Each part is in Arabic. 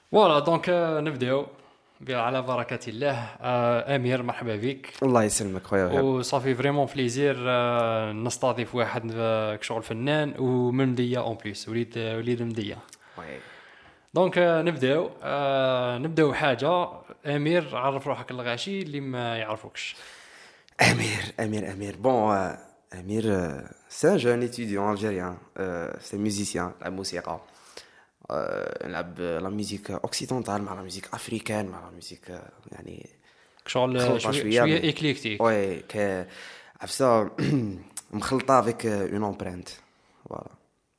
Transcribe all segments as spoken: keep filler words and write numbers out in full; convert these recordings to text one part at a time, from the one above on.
فوالا دونك نبداو على بركة الله. آه، أمير، مرحبا بك. الله يسلمك خويا وهاب. وصافي فريمون بليزير آه، نستضيف واحد آه، كشغل فنان ومن مدية اون بليس، وليد وليد مدية. وي. دونك آه، نبداو آه، نبداو حاجة. أمير، عرف روحك الغاشي اللي ما يعرفوكش. Amir, Amir, Amir. Bon, euh, Amir, euh, c'est un jeune étudiant algérien. Euh, c'est musicien, la musique. Euh, نلعب la musique occidentale مع la musique africaine مع la musique euh, يعني كشغل آه، مخلطة شوية شوية شوية mais إكليكتيك. ouais ك عفسة مخلطة avec euh, une empreinte. Voilà.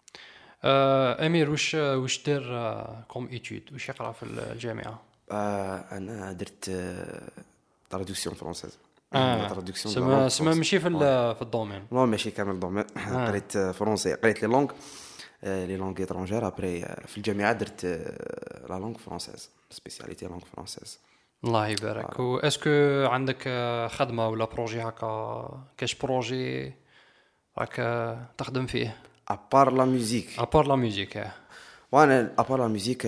آه، أمير، وش وش دير كوم إيتود، وش يقرأ في الجامعة؟ Euh, أنا درت euh, traduction française. La اه، traduction de la سما langue سما française. ماشي في Ouais. ال- في الدومين. Non, ماشي كامل دومين. اه، قريت فرونسي، قريت لي لونغ لي لونغ étrangères. ابري في الجامعه درت لا لونغ فرونسيز، سبيسياليتي لونغ فرونسيز. الله يبارك. واسكو عندك آه، خدمة ولا بروجي هكا، كاش بروجي راك آه، تخدم فيه ابار لا ميوزيك، ابار لا ميوزيك؟ اه. وانا ابار لا ميوزيك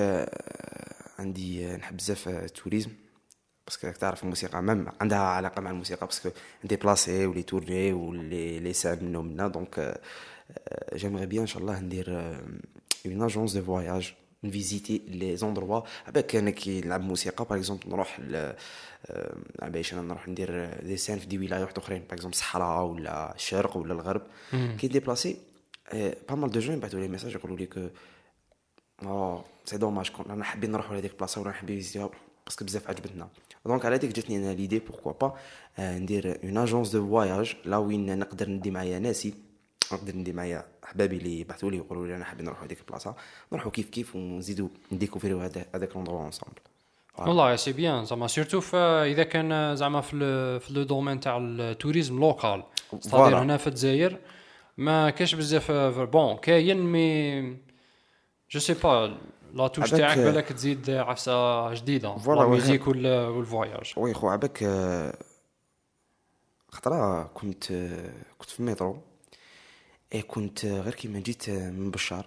عندي آه، نحب بزاف التوريزم، باسكو راك تعرف الموسيقى مام عندها علاقه مع الموسيقى، باسكو ندي بلاسي ولي تورني ولي لي سان منهم منا. دونك جيمغي بيان ان شاء الله ندير اون اجونس دو فواياج، نفيزيتي لي زوندروا. عباك انا كي نلعب موسيقى باغ اكزومبل نروح ل باش انا نروح ندير دي سان في دي ولايات اخرين، باغ اكزومبل الصحراء ولا الشرق ولا الغرب. كي ديبلاسي با مال دو جون يبعثوا لي ميساج يقولوا لي كو اه سي دوماج كون انا حابين نروحوا لهذيك البلاصه ولا نحب نفيزيتيها باسكو بزاف عجبتنا. دونك على هذيك جاتني انا ليدي بوركوا با ندير اون اجونس دو فواياج لا وين نقدر ندي معايا ناسي، نقدر ندي معايا احبابي اللي يبعثوا لي يقولوا لي انا حابين نروحوا هذيك البلاصه، نروحوا كيف كيف ونزيدوا نديكوفريو هذا هذاك لوندروا انصامبل. والله سي بيان زعما، سيرتو اذا كان زعما في ال- في لو دومين تاع التوريزم لوكال، ستادير فوالا هنا في الجزائر ما كاش بزاف آه، بون كاين مي جو سي با لا توش تاعك عباك بالك تزيد عفسه جديده، لا فوالا وهاب. ميوزيك وال- والفواياج. وي خو عباك خطره كنت كنت في المترو، اي كنت غير كيما جيت من بشار،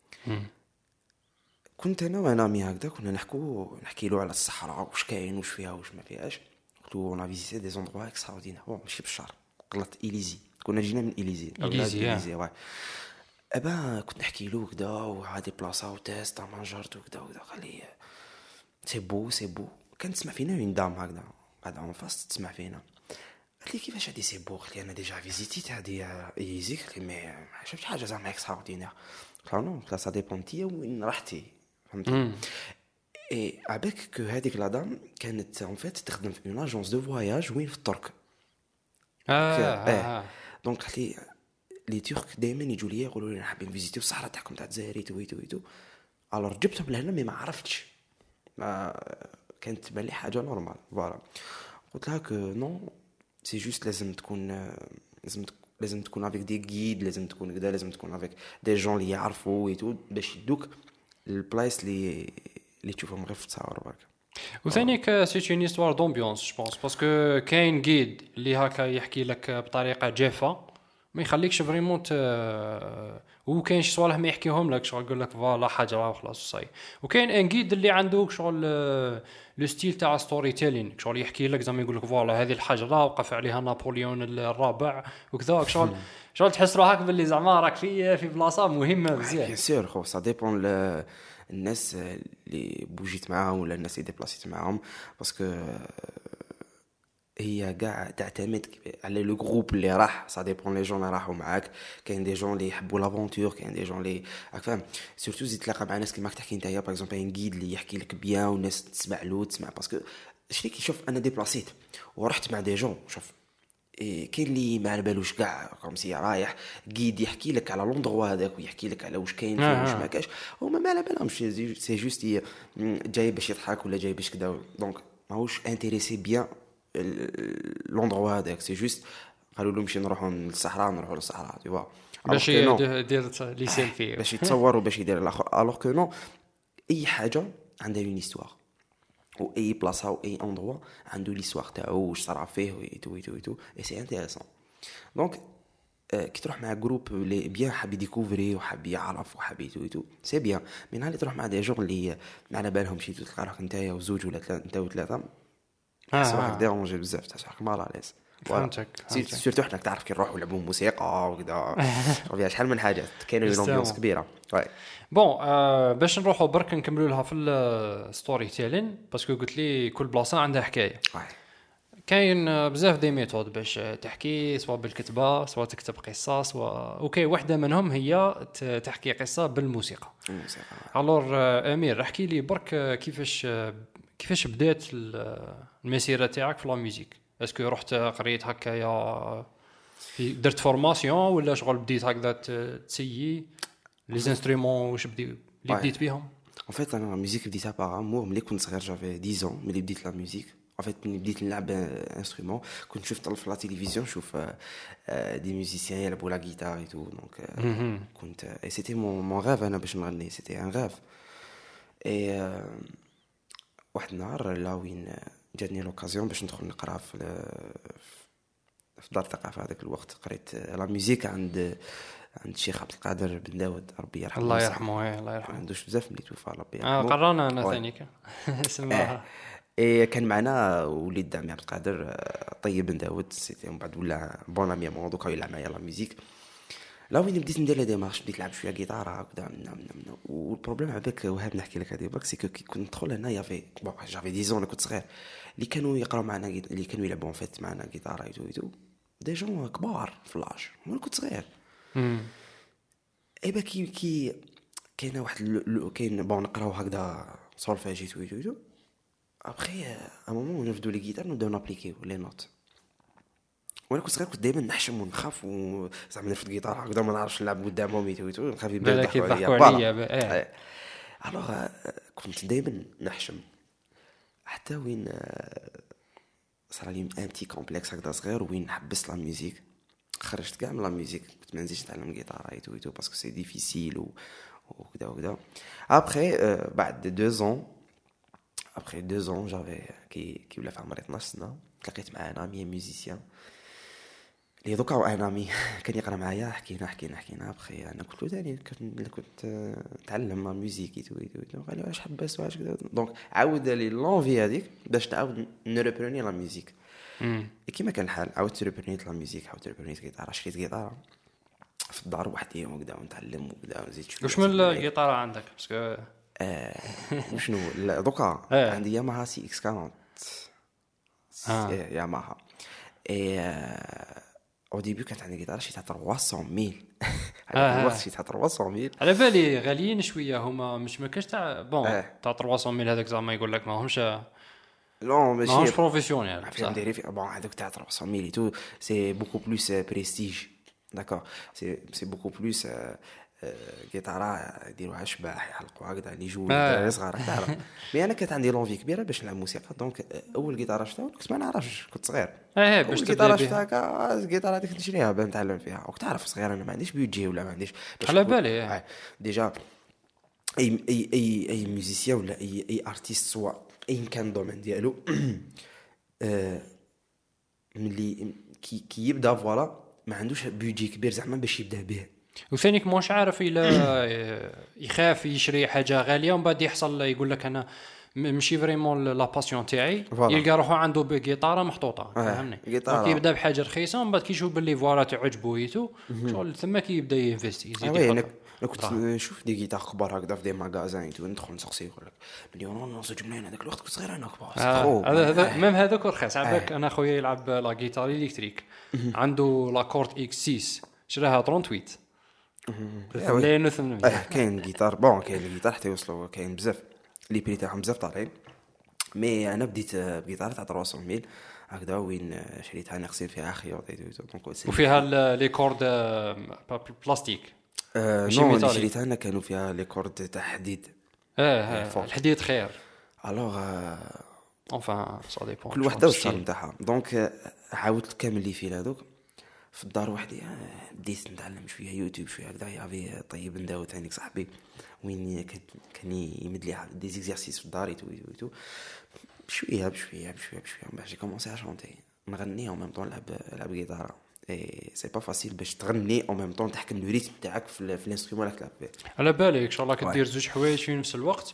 كنت انا وانا مي هكذا كنا نحكو نحكي له على الصحراء واش كاين واش فيها واش ما فيهاش. قلت له انا فيزيتي دي زوندروا اكستراوردينير. بون ماشي بشار، غلط إليزي، كنا جينا من إليزي إليزي، إليزي واي. ابا كنت نحكي له كذا وهادي بلاصه وتيست مانجرت وكذا وكذا، قال لي سي بو سي بو. كان تسمع فينا وين دام هكذا قاعده اون فاس تسمع فينا. قال لي كيفاش هادي سي بو؟ قلت لي انا ديجا فيزيتي هادي إليزي. قلت لي مي ما شفت حاجه زعما اكستراوردينير. قلت له نو، سا ديبون تيا وين رحتي، فهمتي. اي عباك كو هذيك لادام كانت اون فيت تخدم في اون اجونس دو فواياج وين في الترك. اه اه اه اه دونك قالت لي لي ترك دائما يجوا لي يقولوا لي حابين فيزيتيو الصحراء تاعكم تاع الجزائر تو تو تو. الور جبتهم لهنا مي ما عرفتش، ما كانت تبان لي حاجه نورمال. فوالا قلت لها كو نو سي جوست لازم تكون لازم تكون لازم تكون افيك دي غيد، لازم تكون كذا، لازم تكون افيك دي جون اللي يعرفوا ويتو باش يدوك البلايص اللي اللي تشوفهم غير في التصاور برك. وثانيك سي اون هيستوار دومبيونس جو بونس، باسكو كاين جيد اللي هكا يحكي لك بطريقه جافه ما يخليكش فريمون ت وكاين شي صوالح ما يحكيهم لك، شغل يقول لك فوالا حاجه وخلاص صاي. وكاين ان جيد اللي عنده شغل لو ستيل تاع ستوري تيلين، شغل يحكي لك زعما يقول لك فوالا هذه الحجره وقف عليها نابليون الرابع وكذا، شغل شغل تحس روحك باللي زعما راك في في بلاصه مهمه بزاف. بيان سور خو سا ديبون الناس اللي بوجيت معاهم ولا الناس اللي ديبلاسيت معاهم، باسكو هي كاع تعتمد على لو جروب اللي راح. سا ديبون لي جون اللي راحوا معاك، كاين دي جون اللي يحبوا لافونتور، كاين دي جون اللي راك فاهم. سورتو زيد تلاقى مع ناس كيما تحكي نتايا باغ اكزومبل ان غيد اللي يحكي لك بيان والناس تسمع له تسمع، باسكو شتي كي شوف انا ديبلاسيت ورحت مع دي جون شوف إيه كاين اللي ما على بالوش كاع كوم سي رايح قيد يحكي لك على لوندغوا هذاك ويحكي لك على واش كاين فيه واش ما كاش، هما ما على بالهمش سي جوست جاي باش يضحك ولا جاي باش كذا. دونك ماهوش انتريسي بيان لوندغوا هذاك، سي جوست قالوا له نمشي نروحوا للصحراء نروحوا للصحراء تي فوا باش يدير لي سيلفي باش يتصور وباش يدير الاخر. الوغ كو نو، اي حاجه عندها اون هيستوار، و اي بلاصه و اي اندروا عنده ليستوار تاعو واش صرا فيه ويتو ويتو ويتو، اي سي انتريسون. دونك آه، كي تروح مع جروب اللي بيان حاب يديكوفري وحاب يعرف وحاب يتو سي بيان. من نهار اللي تروح مع دي جون اللي ما على بالهم شي تلقى روحك نتايا وزوج ولا ثلاثه انت وثلاثه تحس آه، روحك آه. ديرونجي بزاف تحس روحك مال عليس. فهمتك فهمتك. سيرتو حنا تعرف كي نروحوا نلعبوا موسيقى وكذا فيها شحال من حاجات كاينه يستاهل. لومبيونس كبيره. واي بون آه باش نروحوا برك نكملوا لها في الستوري تيلين باسكو قلت لي كل بلاصه عندها حكايه. واي كاين آه، بزاف دي ميثود باش تحكي سواء بالكتابه سواء تكتب قصه سواء اوكي واحده منهم هي ت- تحكي قصه بالموسيقى. الموسيقى. الور آه، امير احكي لي برك آه، كيفاش آه، كيفاش بدات ال- آه، المسيره تاعك في لا ميوزيك. اسكو رحت قريت هكايا في درت فورماسيون ولا شغل بديت هكذا ت- تسيي لي انسترومون واش بدي اللي Ouais. بديت بهم. En fait, انا الميوزيك بديتها باغ امور ملي كنت صغير جافي عشرة ans ملي بديت لا ميوزيك. En fait ملي بديت نلعب انسترومون كنت شفت في لا تيليفزيون نشوف دي ميوزيسيان يلعبوا لا جيتار اي تو دونك كنت اي سيتي مون مون غاف انا باش نغني سيتي ان غاف. اي واحد النهار لا وين جاتني لوكازيون باش ندخل نقرا في في دار الثقافه هذاك الوقت قريت لا ميوزيك عند عند الشيخ عبد القادر بن داود ربي يرحمه. الله يرحمه إيه، الله ما يرحمه. عندوش بزاف ملي توفى ربي اه يرحمه. قرانا انا واي. ثاني كان سماها اي كان معنا وليد دامي عبد القادر آه، طيب بن داود سيتي من بعد ولا بون امي مون دوكا يلعب معايا لا ميوزيك. لا وين بديت ندير لا ديمارش بديت نلعب شويه جيتار هكذا من من من والبروبليم عباك وهاب نحكي لك هذه برك سي كو كي كنت ندخل هنا يافي بون جافي عشرة انا كنت صغير اللي كانوا يقراو معنا جيت- اللي كانوا يلعبوا فيت معنا جيتار ايتو ايتو دي جون كبار في لاج وانا كنت صغير. اي با كي كي كاينه واحد ال- ال- كاين بون نقراو هكذا سولفيج ايتو ايتو ايتو ابخي ا مومون نفدو لي جيتار نبداو نابليكيو لي نوت. وانا كنت صغير كنت دائما نحشم ونخاف وزعما نرفد جيتار هكذا ما نعرفش نلعب قدامهم ايتو ايتو نخاف يبداو بالك يضحكوا يضحكوا عليا فوالا. ب- إيه. إيه. الوغ كنت دائما نحشم حتى وين آه، صار لي ان بتي كومبلكس هكذا صغير وين حبست لا ميوزيك خرجت كاع من لا ميوزيك كنت ما نزيدش نتعلم جيتار ايتو ايتو باسكو سي ديفيسيل و وكذا وكذا. ابخي آه، بعد دو زون ابخي دو زون جافي كي كي ولا في عمري اثنا عشر سنه تلاقيت مع ان امي ميوزيسيان اللي دوكا انا امي كان يقرا معايا حكينا حكينا حكينا ابخي انا قلت له ثاني كنت كنت آه، نتعلم لا ميوزيك ايتو ايتو ايتو قال لي واش حبست واش كذا دونك عاود لي لونفي هذيك باش تعاود نريبروني لا ميوزيك. مم. كيما كان الحال عاودت ريبرنيت لا ميوزيك عاودت ريبرنيت جيتار شريت جيتار في الدار وحدي وكذا ونتعلم وكذا ونزيد شويه. واش من الجيتار عندك باسكو آه وشنو لا دوكا إيه. عندي ياماها سي اكس أربعين آه. إيه، ياماها اي او ديبي كانت عندي جيتار شريتها ثلاثمية ميل آه. على الوقت شريتها ثلاثمية ميل. على بالي غاليين شويه هما مش ما كاش تاع بون إيه. تاع ثلاثمية ميل هذاك زعما يقول لك ما همش لا ما همش ماشي بروفيسيونيل فيهم بصح. ديري في بون هذوك تاع ثلاثمية ميل تو سي بوكو بلوس بريستيج داكور سي سي بوكو بلوس جيتارا يديروها اشباح يحلقوا هكذا اللي يجوا آه. صغار تعرف. مي انا كانت عندي لونفي كبيره باش نلعب موسيقى دونك اول جيتار شفتها كنت ما نعرفش كنت صغير ايه باش اول تبدا جيتار بها شفتها كا الجيتار هذيك نشريها باش نتعلم فيها وتعرف صغير انا ما عنديش بيدجي ولا ما عنديش باش على نكون- بالي، إيه. آه، ديجا اي اي اي اي ميوزيسيان ولا اي اي ارتيست سواء اي كان الدومين ديالو آه، ملي كي كي يبدا فوالا ما عندوش بيدجي كبير زعما باش يبدا به. وثانيك مش عارف الا يخاف يشري حاجه غاليه ومن بعد يحصل يقول لك انا م- ماشي فريمون لا باسيون تاعي فوالا. يلقى روحو عنده بجيتاره محطوطه آه، فهمني. جيتارة. دونك يبدا بحاجه رخيصه ومن بعد كيشوف باللي فوالا تعجبو ايتو شغل ثم كي يبدا ينفيستي آه يزيد وي انا يحط أنا كنت نشوف دي جيتار كبار هكذا في دي ماغازان تو ندخل نسقسي يقول لك ملي انا نوصل جملين هذاك الوقت كنت صغير انا كبار آه، هذا هذا ميم هذاك رخيص عباك. انا خويا يلعب لا جيتار الكتريك عنده لا كورد اكس ستة شراها ثمانية وثمانين ملايين وثمانمية. اه كاين جيتار بون كاين الجيتار حتى يوصلوا كاين بزاف لي بري تاعهم بزاف طالعين. مي انا بديت بجيتار تاع ثلاثمية ميل هكذا وين شريتها نغسل فيها خيوط دونك وفيها ال- لي كورد آه، بلاستيك. آه ماشي نو اللي ميتاليك. شريتها انا كانوا فيها لي كورد تاع حديد. اه آه، فوق. الحديد خير. الوغ انفان سا ديبون كل وحده والصال نتاعها دونك آه، عاودت كامل لي فيل هذوك في الدار وحدي آه، بديت نتعلم شويه يوتيوب شويه هكذا يافي طيب نداو ثاني صاحبي وين كان كان يمد لي دي زيكزارسيس في الدار ايتو ايتو بشويه بشويه بشويه بشويه باش كومونسي ا شونتي نغني وميم طون نلعب نلعب جيتار اي سي با فاسيل باش تغني او ميم طون تحكم لو ريتم تاعك في, في الانسترومون اللي تلعب به. على بالك ان شاء الله كدير زوج حوايج في نفس الوقت.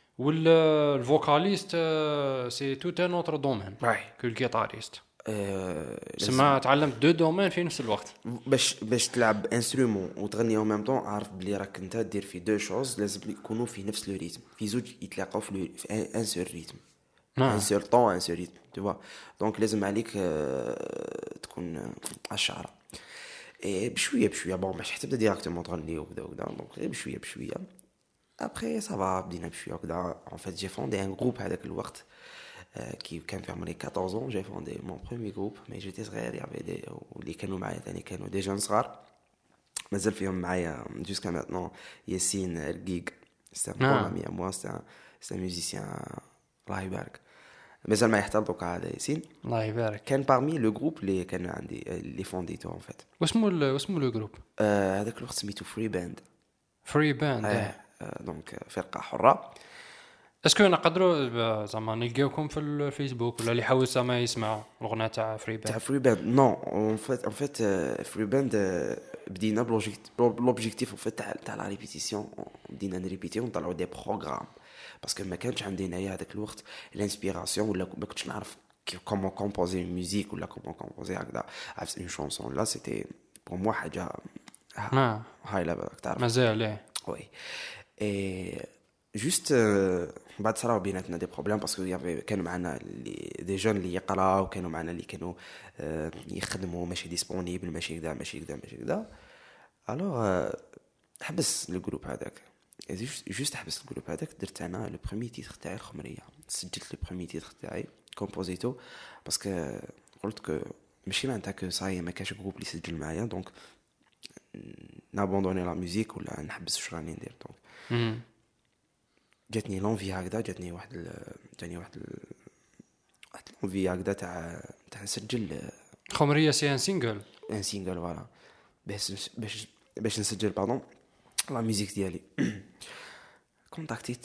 والفوكاليست سي تو ان اوتر دومين كو الجيتاريست. سما تعلمت دو دومين في نفس الوقت. باش باش تلعب انسترومون وتغني او ميم طون عارف بلي راك انت دير في دو شوز لازم يكونوا في نفس لو ريتم في زوج يتلاقاو في, في ان سول ريتم ان سول طون ان سول ريتم tu vois. دونك لازم عليك تكون على الشعره اي بشويه بشويه بون باش تبدا ديريكتومون تغني وكذا وكذا. دونك بشويه بشويه ابري صافا بدينا بشويه وكذا. ان فيت جي فوندي ان جروب هذاك الوقت كي كان في عمري quatorze ans. j'ai fondé mon premier groupe mais j'étais صغير. يعرف دي واللي كانوا معايا ثاني كانوا دي جون صغار مازال فيهم معايا jusqu'à maintenant. ياسين الرقيق c'est un bon ami à moi, c'est un c'est un musicien الله يبارك مازال معايا حتى دوكا. هذا ياسين الله يبارك كان parmi le groupe اللي كان عندي اللي فونديتو en fait. واسمو واسمو لو جروب هذاك الوقت سميتو فري باند. فري باند دونك فرقه حره. اسكو نقدروا زعما نلقاوكم في الفيسبوك ولا اللي حاول زعما يسمع الاغنيه تاع فري باند تاع فري باند؟ نو اون فيت اون فيت فري باند بدينا بلوبجيكتيف اون فيت تاع تاع لا ريبيتيسيون. بدينا نريبيتي ونطلعوا دي بروغرام باسكو ما كانش عندي هنايا هذاك الوقت الانسبيراسيون ولا ما كنتش نعرف كومون كومبوزي ميوزيك ولا كومون كومبوزي هكذا عرفت اون شونسون. لا سيتي بور موا حاجه هاي ليفل تعرف مازال ايه وي. اي جوست بعد صراو بيناتنا دي بروبليم باسكو يافي كانوا معنا اللي دي جون اللي يقراو وكانوا معنا اللي كانوا يخدموا ماشي ديسپونيبل ماشي كذا ماشي كذا ماشي كذا. الوغ حبس الجروب هذاك جوست حبس الجروب هذاك. درت انا لو بروميي تيتر تاعي الخمريه. سجلت لو بروميي تيتر تاعي كومبوزيتو باسكو قلت كو ماشي معناتها كو صاي ما كاش جروب اللي يسجل معايا دونك نابوندوني لا ميوزيك ولا نحبس واش راني ندير. دونك جاتني لونفي هكذا جاتني واحد ال... جاتني واحد ال... واحد لونفي هكذا تاع تاع نسجل خمريه سي ان سينجل ان سينجل فوالا باش باش باش نسجل باردون لا ميوزيك ديالي. كونتاكتيت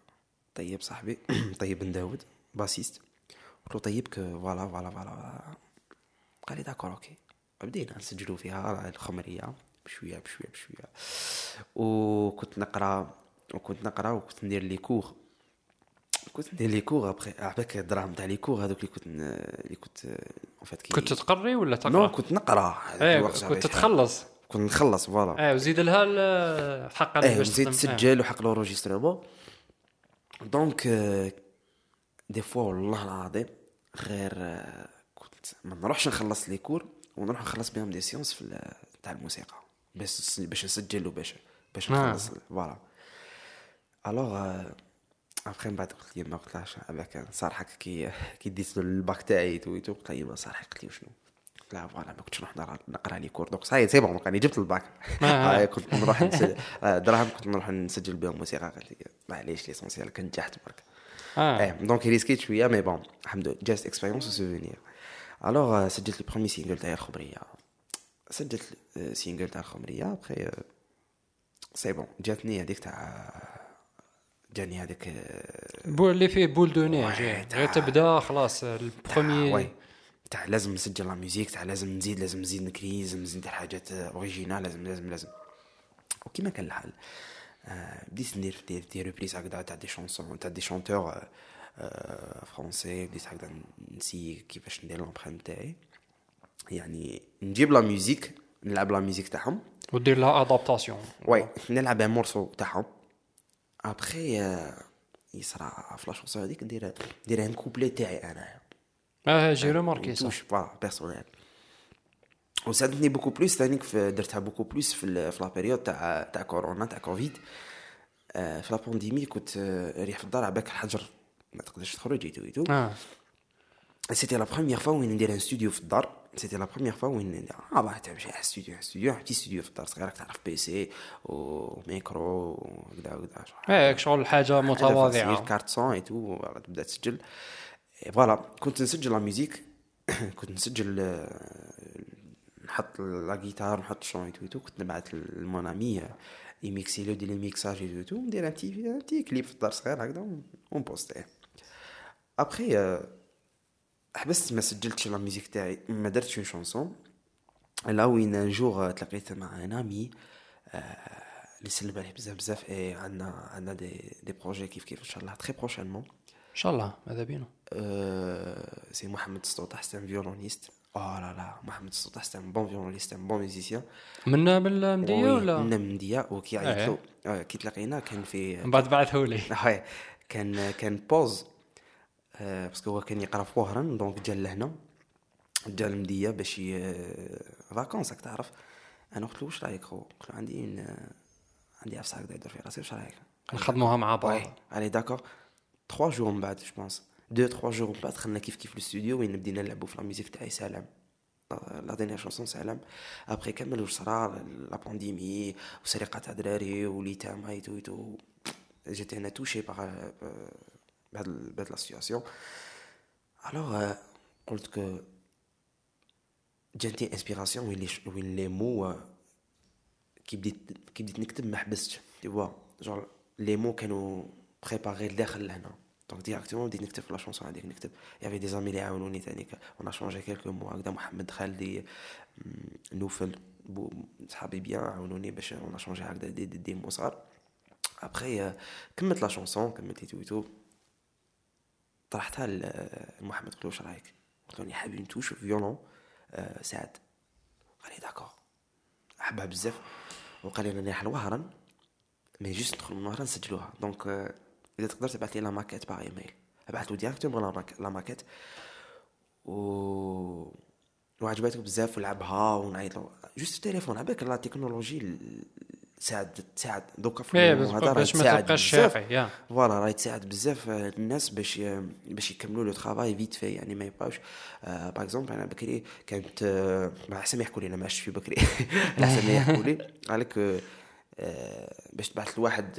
طيب صاحبي طيب بن داود باسيست قلت له طيب كو فوالا فوالا فوالا قال لي داكور اوكي. بدينا نسجلوا فيها الخمريه بشويه بشويه بشويه. وكنت نقرا وكنت نقرا وكنت ندير لي كور كنت ندير لي كور ابري عباك الدراهم تاع لي كور هذوك اللي كنت اللي كنت ان فيت كي كنت تقري ولا تقرا؟ نو كنت نقرا. ايه كنت تخلص كنت نخلص فوالا. ايه وزيد لها الحق اللي باش تسجل تسجل وحق لوروجيسترمون. دونك دي فوا والله العظيم غير كنت ما نروحش نخلص لي كور ونروح نخلص بهم دي سيونس في تاع الموسيقى باش باش نسجل وباش باش نخلص فوالا. الوغ ابخي بعد قلت لي ما قلتلاش هذاك صراحه كي كي ديت الباك تاعي تو تو قلت لي صراحه قلت لي شنو لا فوالا ما كنتش نروح نقرا لي كور. دونك صاي سي بون راني جبت الباك هاي كنت نروح نسجل دراهم كنت نروح نسجل بهم موسيقى. قلت لي معليش ليسونسيال كنت نجحت برك. اه دونك ريسكيت شويه مي بون الحمد لله جاست اكسبيريونس وسوفينير. الوغ سجلت البروميي سينجل تاع الخمريه سجلت سينجل تاع الخمريه ابخي سي بون جاتني هذيك تاع جاني هذاك بول اللي فيه بول دو نيج غير تبدا خلاص البروميي تاع لازم نسجل لا ميوزيك تاع لازم نزيد لازم نزيد نكري لازم نزيد ندير حاجات اوريجينال لازم لازم لازم وكيما كان الحال بديت ندير في دي ريبريز هكذا تاع دي شونسون تاع دي شونتور فرونسي. بديت هكذا نسي كيفاش ندير لامبرنت تاعي يعني نجيب لا ميوزيك نلعب لا ميوزيك تاعهم ودير لها ادابتاسيون. وي نلعب ان مورسو تاعهم ابري يصرا فلاش شونسون هذيك ندير ندير ان كوبلي تاعي انا. اه جي ريماركي سا با بيرسونيل وساعدتني بوكو بلوس ثاني درتها بوكو بلوس في في لا بيريود تاع تاع كورونا تاع كوفيد. في لا بانديمي كنت ريح في الدار عباك الحجر ما تقدرش تخرج ايتو ايتو. اه سيتي لا بروميير فوا وين ندير ان ستوديو في الدار. سيتي لا بروميير فوا وين اه باه تمشي على ستوديو ستوديو بتي ستوديو في الدار صغير تعرف بي سي وميكرو وكذا وكذا. اه شغل حاجه متواضعه كارت سون ايتو تبدا تسجل فوالا. كنت نسجل لا ميوزيك كنت نسجل نحط لا غيتار نحط شون ايتو كنت نبعث للمونامي يميكسي لو دي لي ميكساج ايتو ندير ان تي ان تي كليب في الدار صغير هكذا ونبوستيه. ابري حبست ما سجلتش لا ميوزيك تاعي ما درتش اون شونسون là وين un jour تلاقيت مع un ami اللي سلم عليه بزاف بزاف. اي عندنا عندنا دي دي بروجي كيف كيف ان شاء الله تري بروشينمون. ان شاء الله ماذا بينا. Euh, c'est Mohamed Stouta, c'est un violoniste. Oh là là, Mohamed Stouta, c'est un bon violoniste, un bon musicien. من بالمديه ولا من المدية وكي عيط إيه. له آه، كي تلاقينا كان في من بعد بعثه لي. هاي كان كان بوز آه، باسكو هو كان يقرا في وهران دونك جا لهنا جا المدية باش فاكونس راك تعرف. انا قلت له واش رايك خو؟ قلت له عندي ن... عندي عفسه هكذا يدير في راسي واش رايك نخدموها مع بعض. علي داكور ثلاثة جور من بعد جو بونس deux trois jours من بعد دخلنا كيف كيف الاستوديو وين بدينا نلعبوا في لا ميوزيك تاعي سلام لا دينيير شونسون سلام. ابري كمل واش صرا لا بانديمي وسرقه تاع دراري وليتام هايتو ايتو جيتي انا توشي بار بهاد بهاد لا سيتواسيون. الوغ قلت كو جاتني انسبيراسيون وين لي وين لي مو كي بديت كي بديت نكتب ما حبستش تي فوا جور لي مو كانوا بريباري لداخل لهنا دونك ديريكتومون بديت نكتب في لا شونسون هذيك نكتب. يافي دي زامي اللي عاونوني ثاني اون شونجي كيلكو مو هكذا محمد خالدي نوفل صحابي بيان عاونوني باش اون شونجي هكذا دي دي, دي مو صار. ابري كملت لا شونسون كملت تويتو طرحتها لمحمد قلت له واش رايك؟ قلت له حابين نتوش فيولون أه سعد. قال لي داكور حبها بزاف وقال لي انا نروح لوهران مي جوست ندخل من وهران نسجلوها دونك أه اذا تقدر تبعث لي لا ماكيت باغ ايميل. بعث له ديريكتومون لا ماكيت لا ماكيت و وعجبته بزاف ولعبها ونعيط له جوست التليفون عباك لا تكنولوجي ساعد تساعد دوكا في هذا باش ما تبقاش شافي يا فوالا راهي تساعد بزاف الناس باش باش يكملوا لو طرافاي فيت في يعني ما يبقاوش باغ اكزومبل انا بكري كانت ما احسن يحكوا لي انا ما عشتش في بكري احسن ما يحكوا لي قالك باش تبعث لواحد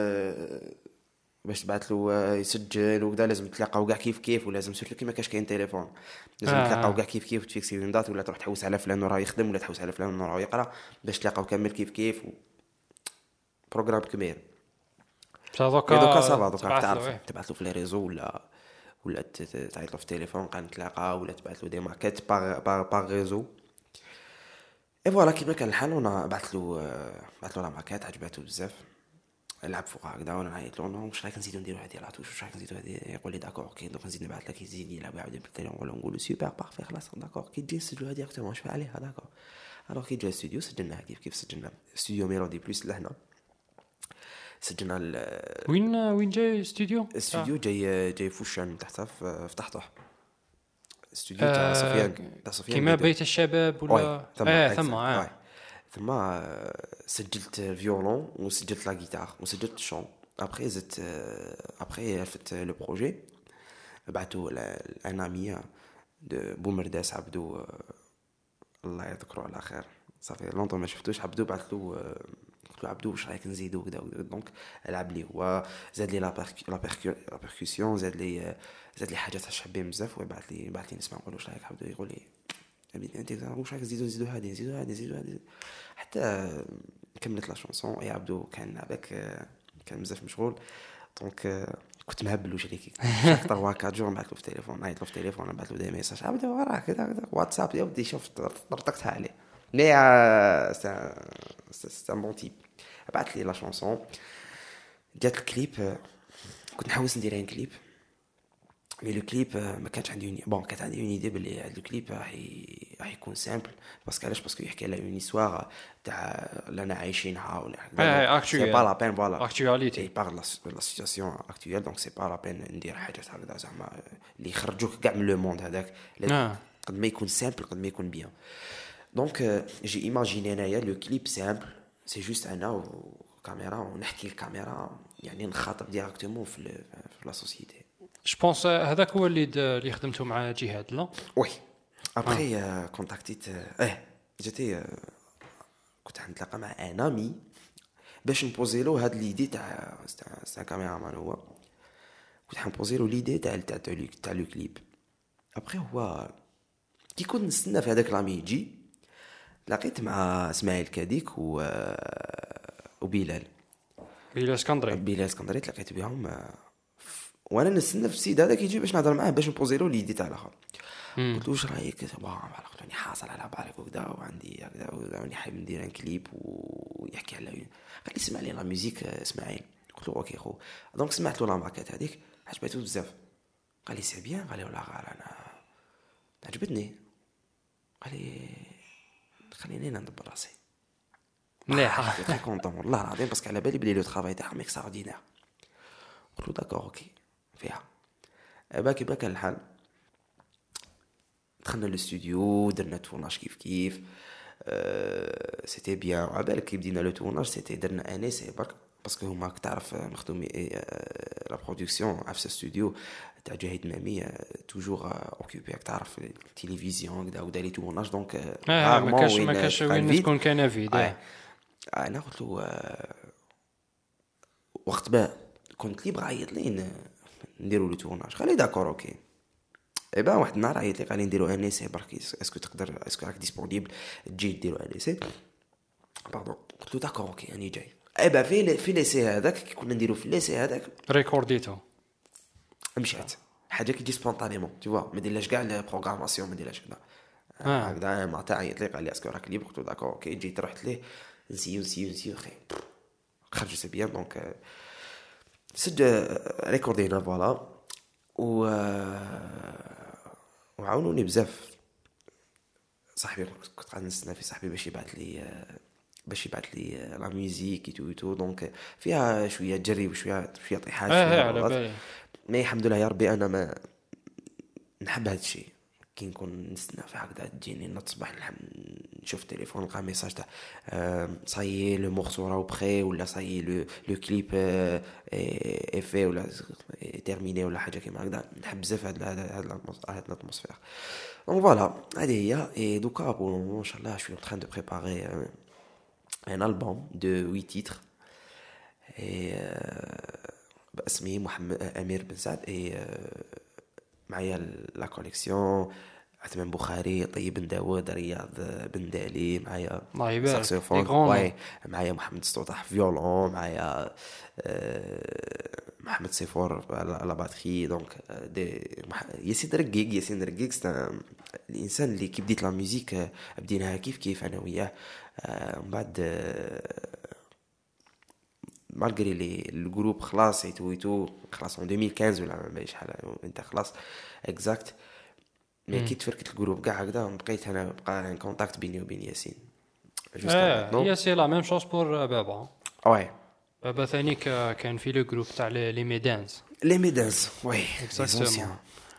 باش تبعث له يسجل وكذا لازم تلاقاو كاع كيف كيف ولازم سيرتو كيما كاش كاين تليفون لازم آه. تلاقاو كاع كيف كيف وتفيكسي لهم دات ولا تروح تحوس على فلان راه يخدم ولا تحوس على فلان راه يقرا باش تلاقاو كامل كيف كيف و... بروغرام كبير. دوكا دوكا صافا دوكا تعرف تبعث له في لي ريزو ولا ولا تعيط له في التليفون قال نتلاقى ولا تبعث له دي ماكيت باغ باغ باغ ريزو اي فوالا كيما كان الحال. وانا بعث له بعث له لا ماكيت عجبته بزاف لعب فوق هكذا وانا نعيط له واش رايك نزيدو نديرو هذه لاطوش واش رايك نزيدو هذه يقول لي داكور اوكي دونك نزيد نبعث لك يزيد يلعب يعاود بالتليفون ولا نقولوا سوبر بارفي خلاص داكور كي تجي نسجلوها ديريكتومون واش عليها داكور. الوغ كي جا الاستوديو سجلناها كيف كيف سجلنا استوديو ميلودي بلس لهنا سجلنا وين وين جاي استوديو استوديو جاي جاي فوشان تحت في تحته استوديو تاع سفيان تاع سفيان كيما بيت الشباب ولا اه ثم اه ثم سجلت الفيولون وسجلت لا غيتار وسجلت الشون. ابري زدت ابري عرفت لو بروجي بعثوا لان امي دو بومرداس عبدو الله يذكره على خير صافي لونطون ما شفتوش عبدو بعث له قلت له عبدو واش رايك نزيدو كذا دونك لعب لي هو زاد لي لا لا بيركوسيون زاد لي زاد لي حاجات حابين بزاف وبعث لي بعث لي نسمع نقول واش رايك عبدو يقول لي انت واش رايك نزيدو نزيدو هذه نزيدو هذه نزيدو هذه حتى كملت لا شونسون. يا عبدو كان هذاك كان بزاف مشغول دونك كنت مهبل واش ليك اكثر واحد أربعة جور نبعث له في التليفون نعيط له في التليفون نبعث له دي ميساج عبدو وراك كذا واتساب يا ودي شوف طرطقتها عليه مي سي ان بون تيب. بعث لي لا شونسون جات الكليب كنت نحوس ندير ان كليب مي لو كليب ما كانش عندي وني بون كانت عندي اون ايدي بلي هذا الكليب راح راح يكون سامبل باسكو علاش باسكو يحكي على اون هيستوار تاع اللي عايشينها ولا سي با لا بين فوالا اكtualité بار لا سيتواسيون اكطويل دونك سي با لا بين ندير حاجات هكذا زعما اللي يخرجوك كاع من لو موند هذاك قد ما يكون سامبل قد ما يكون بيان. دونك جي ايماجيني انايا لو كليب سامبل سي جوست انا وكاميرا ونحكي الكاميرا يعني نخاطب ديريكتومون في في لا سوسيتي. جو بونس هذاك هو اللي اللي خدمته مع جهاد لا وي ابري كونتاكتيت اه جاتي كنت نتلاقى مع ان امي باش نبوزي له هاد ليدي تاع تاع كاميرا مان هو كنت حنبوزي له ليدي تاع تاع تاع لو كليب. ابري هو كي كنت نستنى في هذاك لامي يجي لقيت مع اسماعيل كاديك و وبلال بلال اسكندري بلال اسكندري تلاقيت بهم وانا نستنى في السيد هذاك يجي باش نهضر معاه باش نبوزي له ليدي تاع الاخر. قلت له واش رايك؟ قلت راني حاصل على بالك وكذا وعندي هكذا وراني حاب ندير ان كليب ويحكي على قال لي اسمع لي لا ميوزيك اسماعيل. قلت له اوكي خو. دونك سمعت له لا ماكيت هذيك عجبته بزاف. قال لي سي بيان. قال لي والله غير انا عجبتني. قال لي خليني انا ندبر راسي مليح. تري كونطون والله العظيم باسكو على بالي بلي لو ترافاي تاعهم اكستراوردينير. قلت له داكور اوكي فيها. باكي باكا الحال دخلنا للاستوديو درنا تورناج كيف كيف أه سيتي بيان. وعبالك كي بدينا لو تورناج سيتي درنا ان سي برك باسكو هما تعرف مخدومي لا برودكسيون في الاستوديو تاع جهيد مامي توجور اوكيبي تعرف التلفزيون كذا ودا لي تورناج دونك اه ما كاش ما كاش وين تكون كان فيديو. انا قلت له وقت ما كنت لي بغا عيط لي نديروا لو تورناج. قال لي داكور اوكي. اي با واحد النهار عيط لي قال لي نديروا ان سي برك اسكو تقدر اسكو راك ديسپونيبل تجي ديروا ان سي باردون. قلت له داكور اوكي راني جاي. اي با في في لي سي هذاك كي كنا نديروا في لي سي هذاك ريكورديتو مشات حاجه كي تجي سبونطانيمون تو فوا ما ديرلاش كاع البروغراماسيون ما ديرلاش كذا هكذا. ما تاع عيط لي قال لي اسكو راك ليبر. قلت له داكور اوكي. جيت رحت ليه نسيو نسيو نسيو خي خرج سي بيان. دونك سجل ريكوردينا فوالا و وعاونوني بزاف. صاحبي كنت قاعد نستنى في صاحبي باش يبعث لي باش يبعث لي لا ميوزيك اي تو تو. دونك فيها شويه جري وشويه شويه طيحات اه على بالي. مي الحمد لله يا ربي انا ما نحب هذا الشيء كي نكون نستنى في هكذا تجيني نصبح نشوف التليفون نلقى ميساج تاع صاي لو مورسو راهو بخي ولا صاي لو لو كليب افي ولا تيرميني ولا حاجه كيما هكذا. نحب بزاف هاد هاد هاد الاتموسفير. دونك فوالا هذه هي. اي دوكا بون ان شاء الله شوي en train de préparer un album de huit titres et باسمي محمد امير بن سعد. اي معايا لا كوليكسيون عثمان بخاري طيب بن داود رياض بن دالي معايا ساكسوفون واي معايا محمد السطوح فيولون معايا محمد سيفور على باتري. دونك دي ياسين رقيق ياسين رقيق الانسان اللي كي بديت لا ميوزيك بديناها كيف كيف انا وياه. من بعد مالغري لي الجروب خلاص ايتو ايتو خلاص en ألفين وخمسطاش ولا ما شحال انت خلاص اكزاكت. مي كي تفركت الجروب كاع هكذا بقيت انا بقى ان كونتاكت بيني وبين ياسين. اه هي سي لا ميم شوز بور بابا. واي بابا ثاني كان في لو جروب تاع لي ميدانز لي ميدانز واي اكزاكتومون.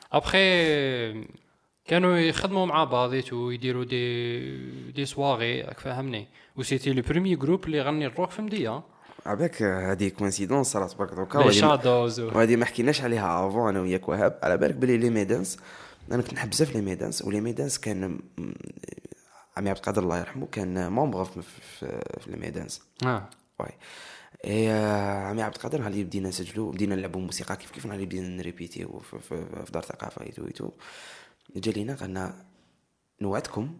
ابخي كانوا يخدموا مع بعضيتو ويديروا دي دي سواغي راك فاهمني. و سيتي لو بريمي جروب اللي غني الروك في مديه. عباك هذه كوينسيدونس صارت برك دوكا وهذه ما حكيناش عليها افون انا وياك وهاب. على بالك بلي لي ميدانس انا كنت نحب بزاف لي ميدانس. ولي ميدانس كان عمي عبد القادر الله يرحمه كان ممبر في, في, في لي ميدانس. اه واي اي عمي عبد القادر هاللي بدينا نسجلوا بدينا نلعبوا موسيقى كيف كيف هاللي بدينا نريبيتي في, في, في دار ثقافه ايتو ايتو. جا لينا قالنا نوعدكم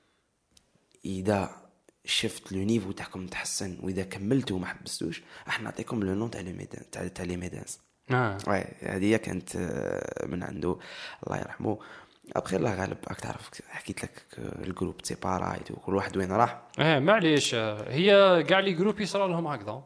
اذا شفت لو نيفو تاعكم تحسن واذا كملتوا وما حبستوش راح نعطيكم لو نون تاع لي ميدان تاع تاع لي ميدانس. اه واي هذه كانت من عنده الله يرحمه. ابخي الله غالب راك تعرف حكيت لك الجروب سيبارا كل واحد وين راح. اه معليش هي كاع لي جروب يصرى لهم هكذا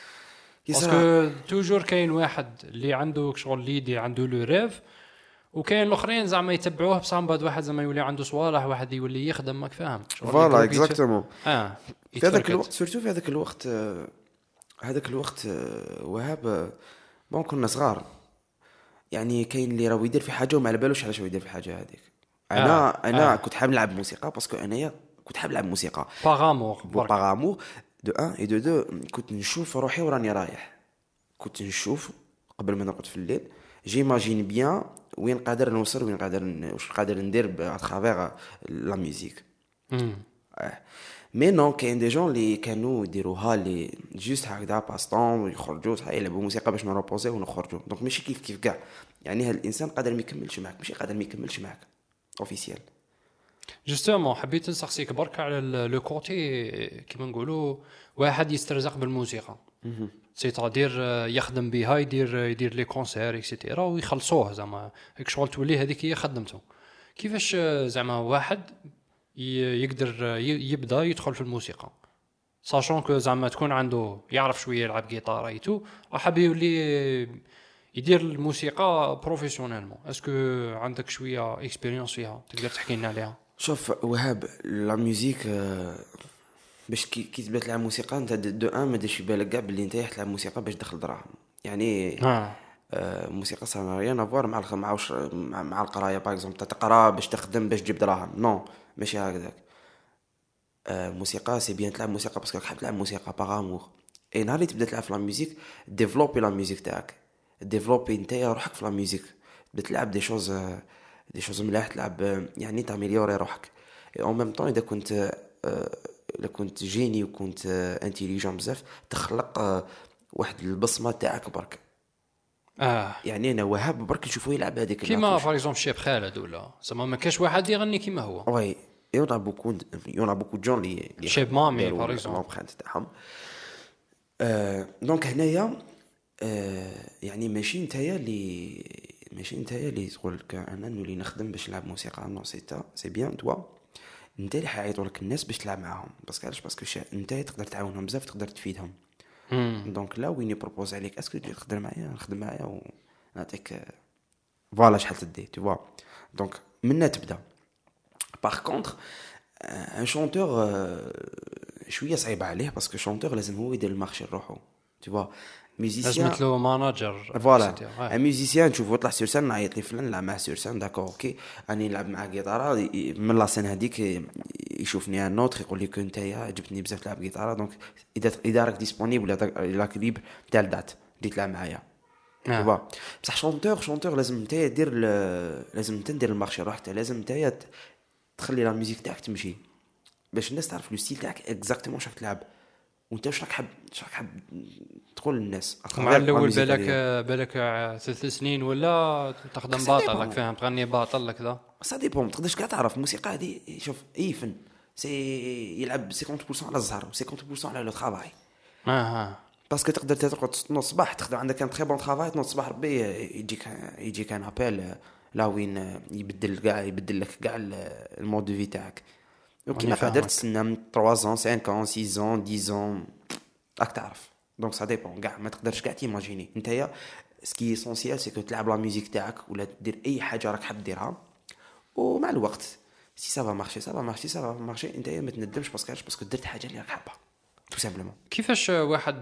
باسكو توجور كاين واحد اللي عنده شغل ليدي عنده لو ريف وكاين الاخرين زعما يتبعوه بصح بعد واحد زعما يولي عنده صوالح واحد يولي يخدم ماك فاهم. فوالا اكزاكتومون. اه في هذاك الوقت سورتو في هذاك الوقت هذاك الوقت وهاب ما كنا صغار يعني كاين اللي راه يدير في حاجه وما على بالوش علاش هو يدير في حاجه هذيك. انا آه. انا آه. كنت حاب نلعب موسيقى باسكو انايا كنت حاب نلعب موسيقى باغامور باغامور دو ان اي دو دو. كنت نشوف روحي وراني رايح كنت نشوف قبل ما نرقد في الليل جيماجين بيان وين قادر نوصل وين قادر واش قادر ندير باترافير لا ميوزيك. امم مي نو كاين دي جون اللي كانوا يديروها لي جوست هكذا باستون يخرجوا يلعبوا موسيقى باش نروبوزي ونخرجوا. دونك ماشي كيف كيف كاع يعني هاد الانسان قادر ما يكملش معك ماشي قادر ما يكملش معك اوفيسيال. جوستومون حبيت نسقسيك برك على لو كوتي كيما نقولوا واحد يسترزق بالموسيقى سي تادير يخدم بها يدير يدير لي كونسير اكسيتيرا ويخلصوه زعما هيك شغل تولي هذيك هي خدمته. كيفاش زعما واحد ي- يقدر ي- يبدا يدخل في الموسيقى ساشون كو زعما تكون عنده يعرف شويه يلعب جيتار ايتو وحاب يولي يدير الموسيقى بروفيسيونيلمون اسكو عندك شويه اكسبيريونس فيها تقدر تحكي لنا عليها؟ شوف وهاب لا ميوزيك آه، باش كي كي تبدا تلعب موسيقى انت دو ان ما ديرش في بالك كاع باللي انت تلعب موسيقى باش تدخل دراهم يعني. اه آه، موسيقى سا ريان افوار مع الخ... مع, وش... مع مع القرايه باغ اكزومبل تقرا باش تخدم باش تجيب دراهم نو ماشي هكذاك. آه، موسيقى سي بيان تلعب موسيقى باسكو حاب تلعب موسيقى باغ امور. اي نهار اللي تبدا تلعب في لا ميوزيك ديفلوبي لا ميوزيك تاعك ديفلوبي نتايا روحك في لا ميوزيك تبدا تلعب دي شوز دي شوز ملاح تلعب آه، يعني تاميليوري روحك. اي اون ميم طون اذا كنت آه، اذا كنت جيني وكنت انتيليجون بزاف تخلق آه، واحد البصمه تاعك برك. اه يعني انا وهاب برك نشوفو يلعب هذيك كيما فار اكزومبل شيب خالد ولا زعما ما كاش واحد يغني كيما هو وي يون ا بوكو يون ا بوكو جون لي شيب مامي فار اكزومبل لومبرانت تاعهم. آه دونك هنايا آه يعني ماشي نتايا اللي ماشي نتايا اللي تقول لك انا نولي نخدم باش نلعب موسيقى نو سي تا سي بيان توا انت اللي حيعيطوا لك الناس باش تلعب معاهم باسكو علاش باسكو انت تقدر تعاونهم بزاف تقدر تفيدهم. دونك لا وين يبروبوز عليك اسكو تجي تخدم معايا نخدم معايا ونعطيك فوالا شحال تدي تو فوا. دونك منا تبدا. باغ كونطخ ان شونتور شويه صعيب عليه باسكو شونتور لازم هو يدير المارشي لروحو تو فوا. ميوزيسيان لازم له ماناجر فوالا ان ميوزيسيان تشوفو يطلع سور سان نعيط لي فلان نلعب معاه سور سان داكور اوكي راني نلعب معاه جيتارا من لا سين هذيك يشوفني ان نوتر يقول لي كو نتايا عجبتني بزاف تلعب جيتارا دونك اذا اذا راك ديسپونيبل لا كليب تاع الدات اللي تلعب معايا آه. با بصح شونتور شونتور لازم نتايا دير لازم انت دير المارشي روحك لازم نتايا تخلي لا ميوزيك تاعك تمشي باش الناس تعرف لو ستيل تاعك اكزاكتومون واش راك تلعب وانت واش راك حاب واش راك حاب تقول للناس. مع الاول بالك بالك ثلاث سنين ولا تخدم باطل راك فاهم تغني باطل كذا سا ديبون ما تقدرش كاع تعرف الموسيقى هذه. شوف اي فن سي يلعب خمسين بالمية على الزهر و50% على لو طرافاي. اه باسكو تقدر تقعد تنوض الصباح تخدم عندك ان تري بون طرافاي تنوض الصباح ربي يجيك يجيك ان ابل لا وين يبدل كاع يبدل لك كاع المود دو في تاعك. دونك ما قادر تستنى من ثلاثة ans خمسة ans ستة ans عشرة ans راك تعرف. دونك سا ديبون كاع ما تقدرش كاع تيماجيني نتايا سكي اسونسيال سي كو تلعب لا ميوزيك تاعك ولا دير اي حاجه راك حاب ديرها ومع الوقت سي سافا مارشي سافا مارشي سافا مارشي نتايا ما تندمش باسكو باسكو درت حاجه اللي راك حابها تو سامبلومون. كيفاش واحد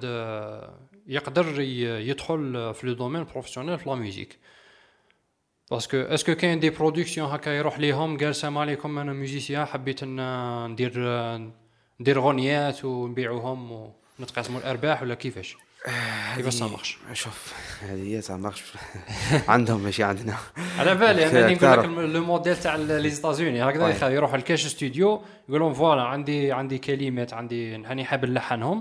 يقدر يدخل في لو دومين بروفيسيونيل في لا ميوزيك باسكو اسكو كاين دي برودكسيون هكا يروح ليهم قال السلام عليكم انا ميوزيسيان حبيت ان ندير ندير غنيات ونبيعوهم ونتقاسموا الارباح ولا كيفاش كيفاش صامخش؟ شوف هذه صامخش عندهم ماشي عندنا على بالي انا نقول لك لو موديل تاع لي زيتازوني هكذا يروح لكاش استوديو يقولون فوالا عندي عندي كلمات عندي هاني حاب نلحنهم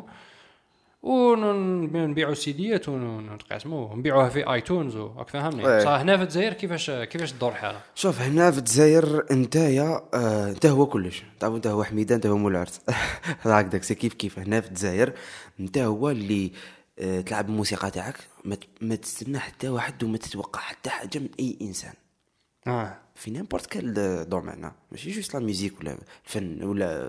ونبيعوا سيديات ونتقاسموا ونبيعوها في ايتونز وراك فاهمني. صح هنا في الجزائر كيفاش كيفاش تدور الحاله؟ شوف هنا في الجزائر نتايا آه انت هو كلش تعرف انت هو حميده انت هو مولارت هكذاك سي كيف كيف هنا في الجزائر انت هو اللي آه تلعب الموسيقى تاعك ما, ما تستنى حتى واحد وما تتوقع حتى حاجه من اي انسان اه في نيمبورت كال دومين ماشي جوست لا ميوزيك ولا الفن ولا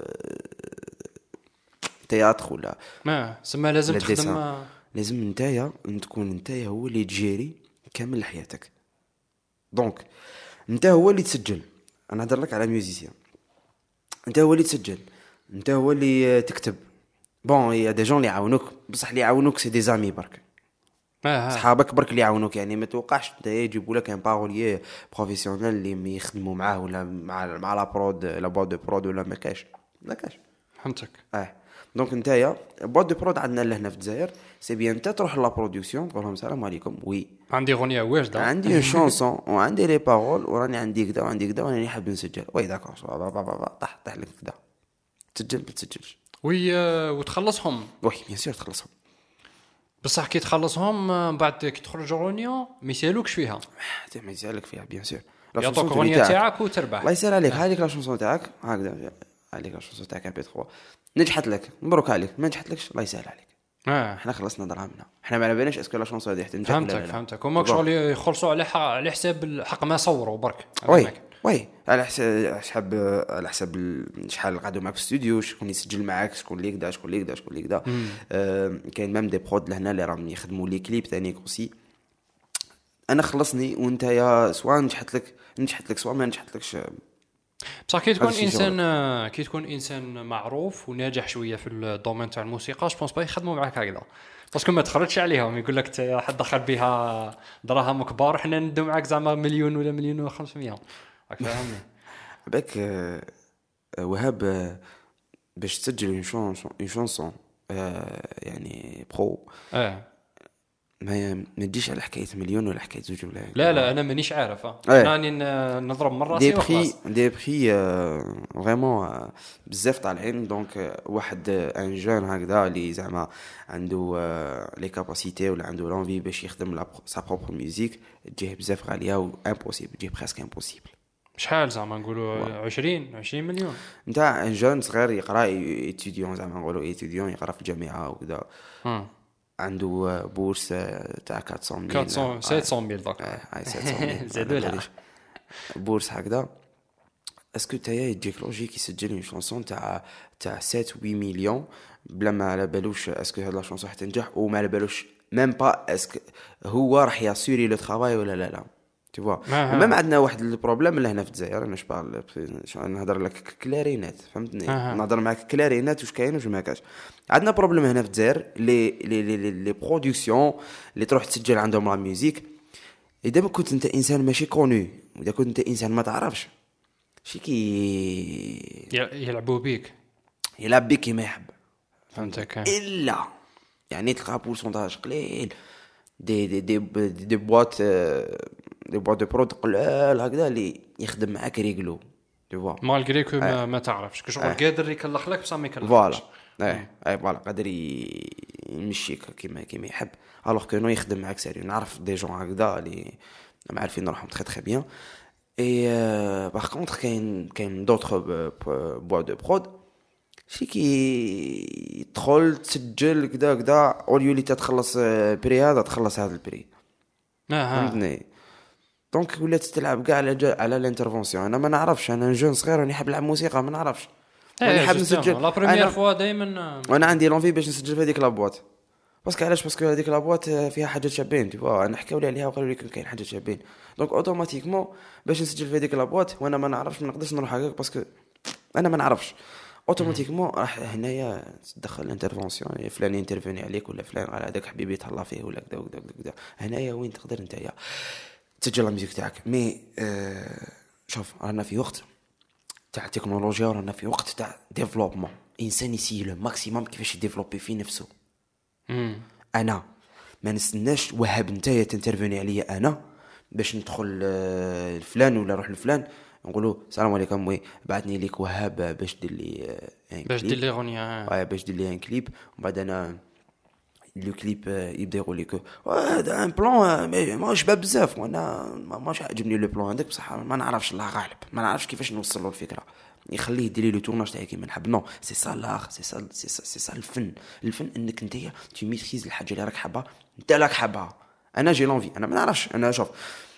تياتر ولا ما سما لازم تخدم لازم نتايا تكون نتايا هو اللي تجيري كامل حياتك. دونك انت هو اللي تسجل انا هضر لك على ميوزيسيان انت هو اللي تسجل انت هو اللي تكتب بون يا دي جون اللي يعاونوك بصح اللي يعاونوك سي دي زامي برك صحابك برك اللي يعاونوك يعني ما توقعش انت يجيبوا لك ان باروليي بروفيسيونيل اللي يخدموا معاه ولا مع مع لا برود لا بواد دو برود ولا ما كاش ما كاش فهمتك اه. دونك نتايا بواد دو برود عندنا لهنا في الجزائر سي بيان انت تروح لا برودكسيون تقول لهم السلام عليكم وي عندي غنيه واجده عندي اون شانسون وعندي لي بارول وراني عندي كذا وعندي كذا وراني حاب نسجل وي داكور طح طح لك كذا تسجل ما تسجلش وي وتخلصهم وي بيان سور تخلصهم بصح كي تخلصهم بعد كي تخرج غنيه ما يسالوكش فيها ما يسالك فيها بيان سور يعطوك غنيه تاعك وتربح الله يسهل عليك هذيك لا شانسون تاعك هكذا هذيك لا شانسون تاعك بي ثلاثة نجحت لك مبروك عليك ما نجحتلكش الله يسهل عليك اه احنا خلصنا دراهمنا احنا ما على بالناش اسكو لا شانس هذه تنجح فهمتك فهمتك هما شغل يخلصوا على على حساب الحق ما صوروا برك وي وي على حساب حساب على حساب ال- شحال قعدوا معك في الاستوديو، شكون يسجل معاك، شكون اللي كدا شكون اللي كدا شكون اللي كدا. آه كاين ميم دي برود لهنا اللي راهم يخدموا لي كليب ثاني كوسي. انا خلصني وانت يا سواء نجحت لك نجحت لك سواء ما نجحت لكش. بصح كي تكون هذا الشيء انسان آه، كي تكون انسان معروف وناجح شويه في الدومين تاع الموسيقى، جو بونس با يخدموا معاك هكذا، باسكو ما تخرجش عليهم، يقول لك تا حد دخل بها دراهم كبار وحنا ندو معاك زعما مليون ولا مليون و500. راك فاهمني؟ باك آه، آه، وهاب آه، باش تسجل اون شونسون اون شونسون يعني برو، اه ما ما تجيش على حكايه مليون ولا حكايه زوج ولا لا لا انا مانيش عارف اه. إيه. انا راني ن- نضرب من دي راسي بري وخلاص. دي بري فريمون بزاف طالعين. دونك آه، واحد ان جون هكذا اللي زعما عنده لي كاباسيتي ولا عنده لونفي باش يخدم سا بروبر ميوزيك، تجيه بزاف غاليه و امبوسيبل، تجيه بريسك امبوسيبل. شحال زعما نقولوا عشرين عشرين مليون؟ نتاع ان جون صغير يقرا ايتيديون، زعما نقولوا ايتيديون يقرا في الجامعه وكذا، ها عنده بورس تاع أربعمية ميل أربعمية سبعمية ميل داك. اي سبعمية زادوا لها. بورس هكذا. اسكو تايا يجيك لوجيك يسجل اون شونسون تاع تاع سبعة ثمانية مليون بلا ما على بالوش اسكو هاد لا شونسون حتنجح، وما على بالوش ميم با اسكو هو راح ياسوري لو ترافاي ولا لا لا. tu vois. ميم عندنا واحد البروبليم اللي هنا في الجزائر، انا شبال نهضر لك كلارينات فهمتني، نهضر معاك كلارينات واش كاين واش ما كاش. عندنا بروبليم هنا في الجزائر لي لي لي لي برودكسيون اللي تروح تسجل عندهم لا ميوزيك، اذا ما كنت انت انسان ماشي كوني، واذا كنت انت انسان ما تعرفش شي كي يلعبوا بيك، يلعب بك كيما يحب، فهمتك؟ الا يعني تلقى بورسونتاج قليل دي دي دي دي بواط دي بواط دو برود قلال هكذا اللي يخدم معاك ريغلو، tu vois. مالغري كو ما, ما تعرفش كشغل قادر يكلخ لك بصح ما يكلخش. فوالا اي اي فوالا قادر يمشيك كيما كيما يحب، الوغ كو نو يخدم معاك سيريو. نعرف دي جون هكذا اللي ما عارفين نروحهم تري تري بيان. اي باغ كونطخ كاين كاين دوطخ بوا دو برود شي كي تدخل تسجل كدا كدا اوليو اللي تتخلص بري هذا تخلص هذا البري، فهمتني. دونك ولات تلعب كاع على على الانترفونسيون. انا ما نعرفش، انا جون صغير راني حاب نلعب موسيقى ما نعرفش، راني حاب نسجل لا بريمير فوا دائما، وانا عندي لونفي باش نسجل في هذيك لابواط. باسكو علاش؟ باسكو هذيك لابواط فيها حاجات شابين، tu vois. انا حكاو لي عليها وقالوا لي كاين حاجات شابين، دونك اوتوماتيكمون باش نسجل في هذيك لابواط وانا ما نعرفش ما نقدرش نروح هكاك باسكو انا ما نعرفش. اوتوماتيكمون راح هنايا تدخل الانترفونسيون، فلان ينترفيني عليك ولا فلان على هذاك حبيبي تهلا فيه ولا كذا وكذا وكذا. هنايا وين تقدر نتايا تسجل لا ميوزيك تاعك. مي آه شوف رانا في وقت تاع التكنولوجيا، ورانا في وقت تاع ديفلوبمون. انسان يسي لو ماكسيموم كيفاش يديفلوبي في نفسه. مم. انا ما نستناش وهاب نتايا تنترفيني عليا انا باش ندخل آه فلان ولا نروح لفلان نقولوا السلام عليكم وي بعثني ليك وهاب باش دير لي ان باش دير لي غنيه واي باش دير لي ان كليب، ومن بعد انا لو كليب يبدا يقول لك هذا ان بلان ما شباب بزاف وانا ماش عاجبني لو بلان عندك بصح ما نعرفش الله غالب، ما نعرفش كيفاش نوصل له الفكره. يخليه يدير لي لو تورناج تاعي كيما نحب. نو سي سا لاغ، سي سا سي سا سي سا الفن. الفن انك انت تي ميتريز الحاجه اللي راك حابها انت راك حابها. انا جي لونفي، انا ما نعرفش. انا شوف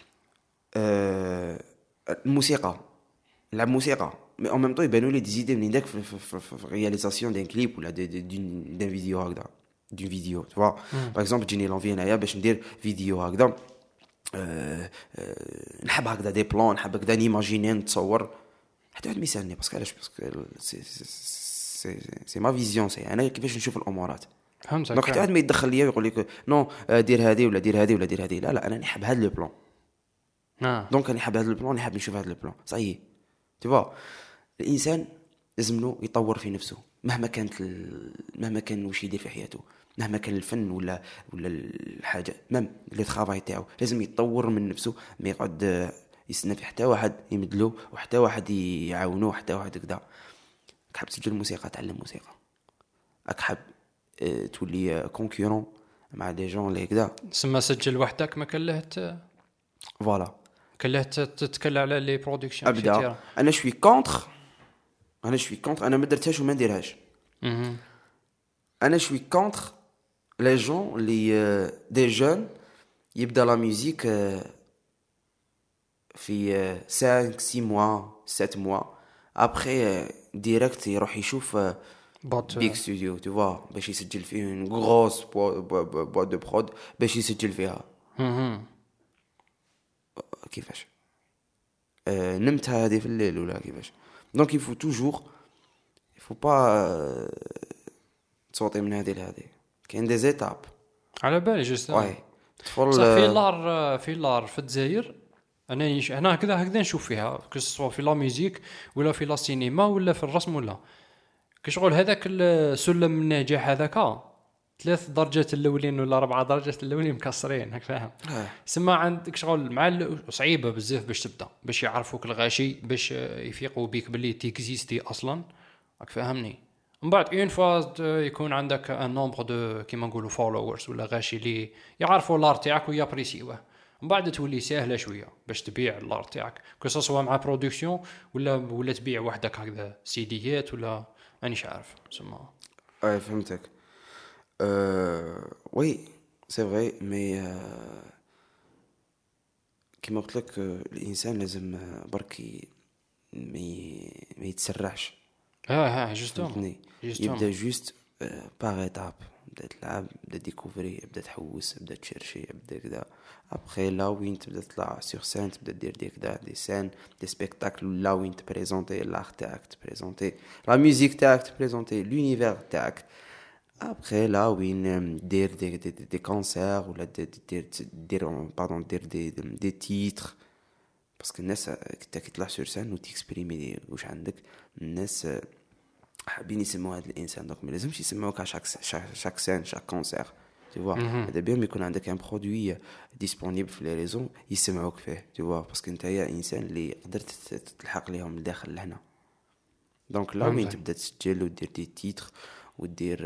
أه الموسيقى نلعب موسيقى مي اون ميم طو يبانوا لي دي زيدي منين داك في في في رياليزاسيون دين كليب ولا دون دون فيديو هكذا دون فيديو tu vois. باغ اكزومبل تجيني لونفي هنايا باش ندير فيديو هكذا أه أه نحب هكذا دي بلان، نحب هكذا نيماجيني نتصور حتى واحد ما يسالني باسكو علاش؟ باسكو سي سي سي ما فيزيون، سي انا كيفاش نشوف الامورات. فهمتك؟ دونك حتى واحد ما يدخل ليا ويقول لك نو دير هذه ولا دير هذه ولا دير هذه، لا لا انا نحب هذا لو بلان. اه دونك انا نحب هذا البلان، نحب نشوف هذا البلان صحيح tu vois. الانسان لازم له يطور في نفسه مهما كانت ال... مهما كان واش يدير في حياته، مهما كان الفن ولا ولا الحاجه مام لي ترافاي تاعو لازم يتطور من نفسه. ما يقعد يستنى في حتى واحد يمدلو وحتى واحد يعاونوه حتى واحد كذا. حاب تسجل موسيقى تعلم موسيقى، راك حاب اه تولي كونكورون مع دي جون اللي كذا سما سجل وحدك ما كان له فوالا كان له تتكلم على لي برودكسيون. ابدا انا شوي كونتر انا شوي كونتر انا ما درتهاش وما نديرهاش. انا شوي كونتر لي جون لي دي جون يبدا لا ميوزيك في في خمسة ستة موا سبعة موا ابري ديريكت يروح يشوف بات بيك ستوديو tu vois باش يسجل فيه une grosse boîte de prod باش يسجل فيها. مهم. كيفاش آه نمت هذه في الليل ولا كيفاش؟ دونك يفو توجور يفو با تصوتي من هذه لهذه، كاين دي زيتاب على بالي جوست واي تدخل صح. في لار في لار في الجزائر انا يش... هنا هكذا هكذا نشوف فيها كسوا في لا ميوزيك ولا في لا سينما ولا في الرسم ولا كشغل هذاك السلم النجاح هذاك ثلاث درجات الاولين ولا اربع درجات الاولين مكسرين هاك فاهم. سما عندك شغل مع ال- صعيبه بزاف باش تبدا باش يعرفوك الغاشي باش يفيقوا بيك باللي تيكزيستي اصلا راك فاهمني. من بعد اون فوا يكون عندك ان نومبر دو كيما نقولوا فولورز ولا غاشي اللي يعرفوا الار تاعك ويابريسيوه، من بعد تولي سهله شويه باش تبيع الار تاعك كو سوا مع برودكسيون ولا ولا تبيع وحدك هكذا سيديات ولا مانيش عارف سما. اي فهمتك. أه... وي سي فري مي أه... كيما قلت لك الانسان لازم برك ما ما يتسرعش. اه اه جوستومون فهمتني؟ يبدا جوست باغ ايتاب، بدا تلعب، بدا ديكوفري، بدا تحوس، بدا تشيرشي، بدا كذا. ابخي لا وين تبدا تطلع سور سين، تبدا دير دي كذا دي سين دي سبيكتاكل لا وين تبريزونتي لار تاعك، تبريزونتي لا ميوزيك تاعك، تبريزونتي لونيفير تاعك. ابخي لا وين دير دي دي, دي, دي كونسير ولا دير دير دير باردون دير دي دي تيتر باسكو الناس كي تطلع سور سين وتيكسبريمي واش عندك. الناس حابين يسمعوا هذا الانسان، دونك ما لازمش يسمعوك على شاك شاك سين شاك كونسير tu vois. هذا بيان يكون عندك ان برودوي ديسپونيبل في لي ريزون يسمعوك فيه tu vois باسكو انت يا انسان اللي قدرت تلحق ليهم من داخل لهنا. دونك لا وين تبدا تسجل ودير دي تيتر ودير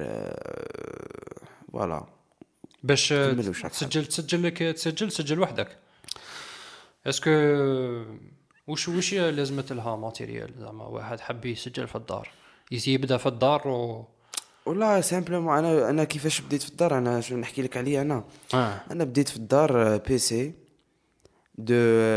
فوالا باش تسجل تسجل لك تسجل تسجل وحدك. اسكو وش وش لازمت لها ماتيريال زعما واحد حب يسجل في الدار يبدا في الدار و والله سامبلومون انا انا كيفاش بديت في الدار. انا شنو نحكي لك عليه انا آه. انا بديت في الدار بي سي دو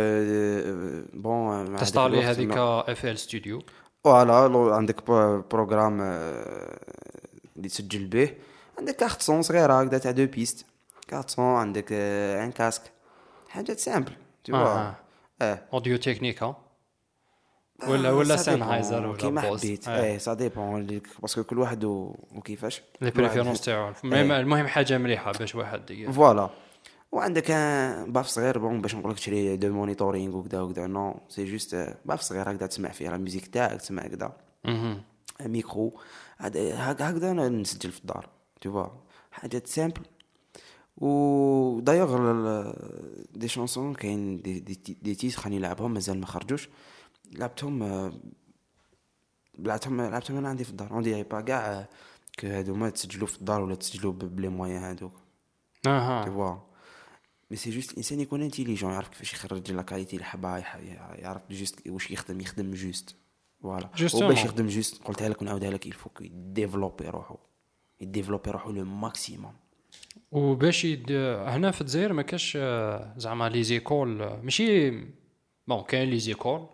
بون تستعلي هذيك اف ال ستوديو فوالا عندك بروغرام اللي تسجل به، عندك كارت صون صغيره هكذا تاع دو بيست، كارت صون عندك ان كاسك، حاجات سامبل tu vois. اه اوديو تكنيك ها ولا ولا سانهايزر ولا كيما حبيت. ايه سا ديبون باسكو كل واحد وكيفاش لي بريفيرونس تاعو. المهم حاجه مليحه باش واحد فوالا. وعندك باف صغير بون باش نقول لك تشري دو مونيتورينغ وكذا وكذا نو سي جوست باف صغير هكذا تسمع فيه لا ميوزيك تاعك تسمع كذا ميكرو هكذا انا نسجل في الدار tu vois حاجات سامبل. و دايوغ دي شانسون كاين دي دي, دي تيتر خليني نلعبهم مازال ما خرجوش، لعبتهم لعبتهم لعبتهم انا عندي في الدار. عندي با كاع كو هادو ما تسجلوا في الدار ولا تسجلوا بلي مويان هادوك اها tu vois. مي سي جوست الانسان يكون انتيليجون، يعرف كيفاش يخرج لا كاليتي اللي حبها، يعرف جوست واش يخدم يخدم جوست فوالا. وباش يخدم جوست قلتها لك ونعاودها لك يلفوك يديفلوبي روحو يديفلوبي روحو لو ماكسيموم. وباش يد... هنا في الجزائر ما كاش زعما لي زيكول ماشي بون كاين لي زيكول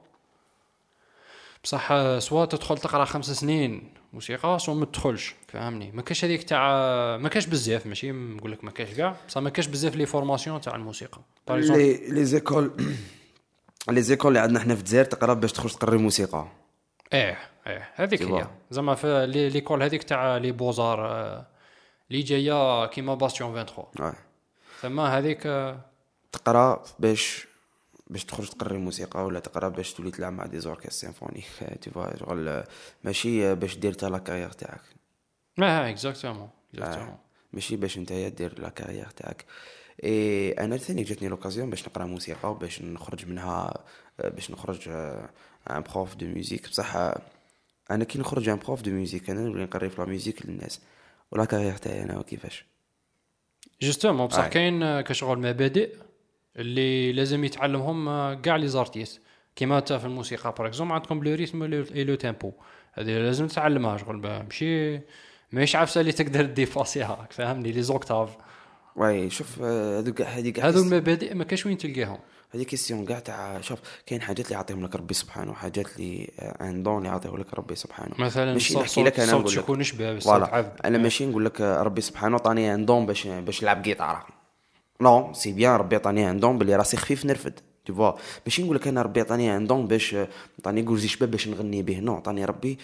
بصح سوا تدخل تقرا خمس سنين موسيقى سوا ما تدخلش فهمني. ما كاش هذيك تاع ما كاش بزاف ماشي نقول لك ما كاش كاع بصح ما كاش بزاف لي فورماسيون تاع الموسيقى. لي لي زيكول لي زيكول اللي عندنا حنا في الجزائر تقرا باش تخرج تقري موسيقى. ايه ايه هذيك هي زعما في لي ليكول هذيك تاع لي بوزار اللي جايه كيما باستيون ثلاثة وعشرين ثم هذيك تقرا باش باش تخرج تقري موسيقى ولا تقرا باش تولي تلعب مع دي زوركستر سيمفونيك tu vois شغل ماشي باش دير تا لا كارير تاعك. اه اكزاكتومون اكزاكتومون ماشي باش نتايا دير لا كارير تاعك. اي انا ثاني جاتني لوكازيون باش نقرا موسيقى وباش نخرج منها باش نخرج ان بروف دو ميوزيك. بصح انا كي نخرج ان بروف دو ميوزيك انا نولي نقري في لا ميوزيك للناس ولا كارير تاعي انا وكيفاش جوستومون. بصح كاين كشغل مبادئ اللي لازم يتعلمهم كاع لي زارتيست كيما تا في الموسيقى باغ اكزومبل عندكم لو ريتم اي لو تيمبو هذه لازم تتعلمها شغل ماشي ماشي عارفه اللي تقدر ديفاسيها فهمني لي زوكتاف. واي شوف هذوك هذيك هذو المبادئ ما كاش وين تلقاهم. هذه كيستيون كاع تاع شوف كاين حاجات اللي يعطيهم لك ربي سبحانه وحاجات اللي ان دون اللي يعطيه لك ربي سبحانه. مثلا ماشي الصوت نحكي لك انا الصوت نقول لك يكون شباب الصوت فوالا عذب. انا ماشي نقول لك ربي سبحانه عطاني ان دون باش باش نلعب جيتار. نو سي بيان ربي عطاني ان دون باللي راسي خفيف نرفد tu vois. ماشي نقول لك انا ربي عطاني ان دون باش عطاني كوزي شباب باش نغني به. نو عطاني ربي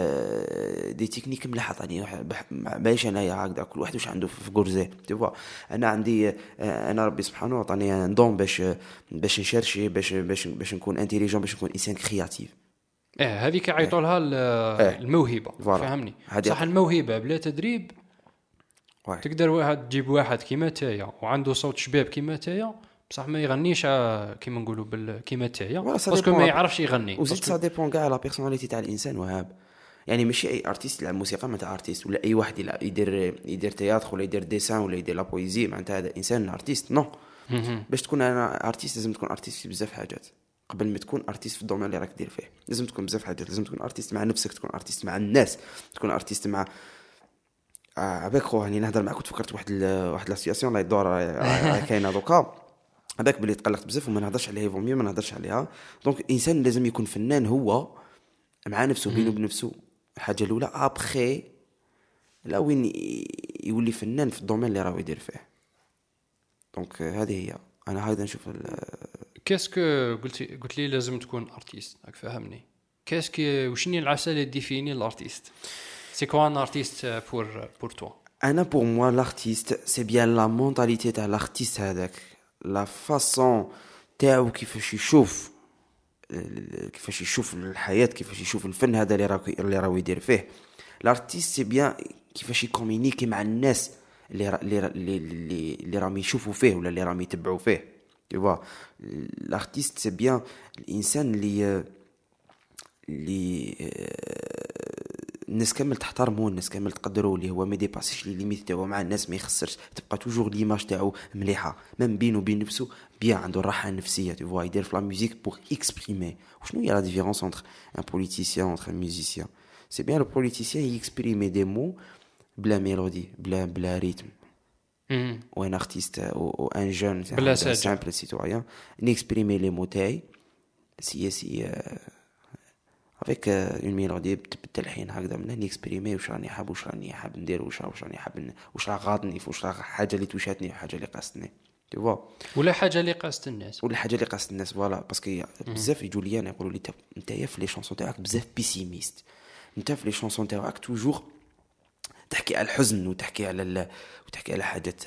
دي تكنيك ملاح عطاني باش انايا هكذا كل واحد واش عنده في كورزيه tu vois. انا عندي انا ربي سبحانه عطاني ان دون باش باش نشرشي باش باش باش نكون انتيليجون باش نكون انسان كرياتيف. اه هذيك يعيطوا لها الموهبه فهمني. صح الموهبه بلا تدريب واحد. تقدر واحد تجيب واحد كيما تايا وعنده صوت شباب كيما تايا بصح ما يغنيش كيما نقولوا بال كيما تايا باسكو ما يعرفش يغني. وزيد سا ديبون كاع لا بيرسوناليتي تاع الانسان وهاب. يعني ماشي اي ارتيست يلعب موسيقى معناتها ارتيست ولا اي واحد يلعب يدير يدير تياتر ولا يدير ديسان ولا يدير لا بويزي معناتها هذا انسان ارتيست. نو باش تكون انا ارتيست لازم تكون ارتيست بزاف حاجات قبل ما تكون ارتيست في الدومين اللي راك دير فيه. لازم تكون بزاف حاجات. لازم تكون ارتيست مع نفسك تكون ارتيست مع الناس تكون ارتيست مع عباك خو هاني نهضر معاك وتفكرت واحد ال... واحد لا سيتواسيون لا يدور كاينه دوكا هذاك بلي تقلقت بزاف وما نهضرش عليها فومي ما نهضرش عليها. دونك الانسان لازم يكون فنان هو مع نفسه بينه بنفسه الحاجه الاولى ابخي لا وين يولي فنان في الدومين اللي راه يدير فيه. دونك هذه هي انا هكذا نشوف كاسكو قلت قلت لي لازم تكون ارتيست راك فاهمني. كاسكو وشني العسل اللي ديفيني الارتيست سي كوا ان ارتيست بور بور تو. انا بور موا لارتيست سي بيان لا مونتاليتي تاع لارتيست هذاك لا فاصون تاعو كيفاش يشوف كيفاش يشوف الحياه كيفاش يشوف الفن هذا اللي راه اللي راه يدير فيه. لارتيست سي بيان كيفاش يكومونيكي مع الناس اللي اللي اللي اللي راهم يشوفوا فيه ولا اللي راهم يتبعوا فيه tu vois. لارتيست سي بيان الانسان اللي اللي الناس كامل تحترمه الناس كامل تقدره اللي هو ما ديباسيش لي ليميت تاعو مع الناس ما يخسرش تبقى توجور ليماج تاعو مليحه من بينه وبين نفسه بيان عنده الراحه النفسيه tu vois. يدير في لا ميوزيك بور اكسبريمي. وشنو هي لا ديفيرونس انتر ان بوليتيسيان انتر ان ميوزيسيان سي بيان لو بوليتيسيان يكسبريمي دي مو بلا ميلودي بلا بلا ريتم ou un artiste ou, ou un jeune un simple citoyen n'exprimer les mots تاعي سي سي avec une mélodie بالتلحين هكذا من نيكسبريمي واش راني حاب واش راني حاب ندير واش واش راني حاب واش راه غاضني واش راه حاجه اللي توشاتني وحاجه اللي قاستني tu vois. ولا حاجه اللي قاست الناس ولا حاجه اللي قاست الناس فوالا باسكو بزاف يجوا لي انا يقولوا لي انت يا في لي شونسون تاعك بزاف بيسيميست انت في لي شونسون تاعك توجور تحكي على الحزن وتحكي على ال... وتحكي على حاجات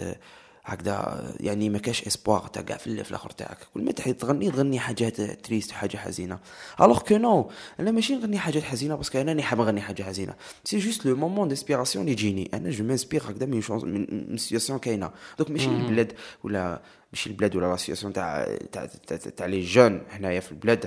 هكذا يعني ما كاش اسبوار تاع كاع في الاخر تاعك كل ما تحب تغني تغني حاجات تريست وحاجه حزينه. الوغ كو نو انا ماشي نغني حاجات حزينه باسكو انا راني حاب نغني حاجه حزينه سي جوست لو مومون ديسبيراسيون اللي يجيني انا جو مانسبير هكذا من شونس من سيتواسيون كاينه. دونك ماشي البلاد ولا ماشي البلاد ولا لا سيتواسيون تاع تاع تاع لي جون هنايا في البلاد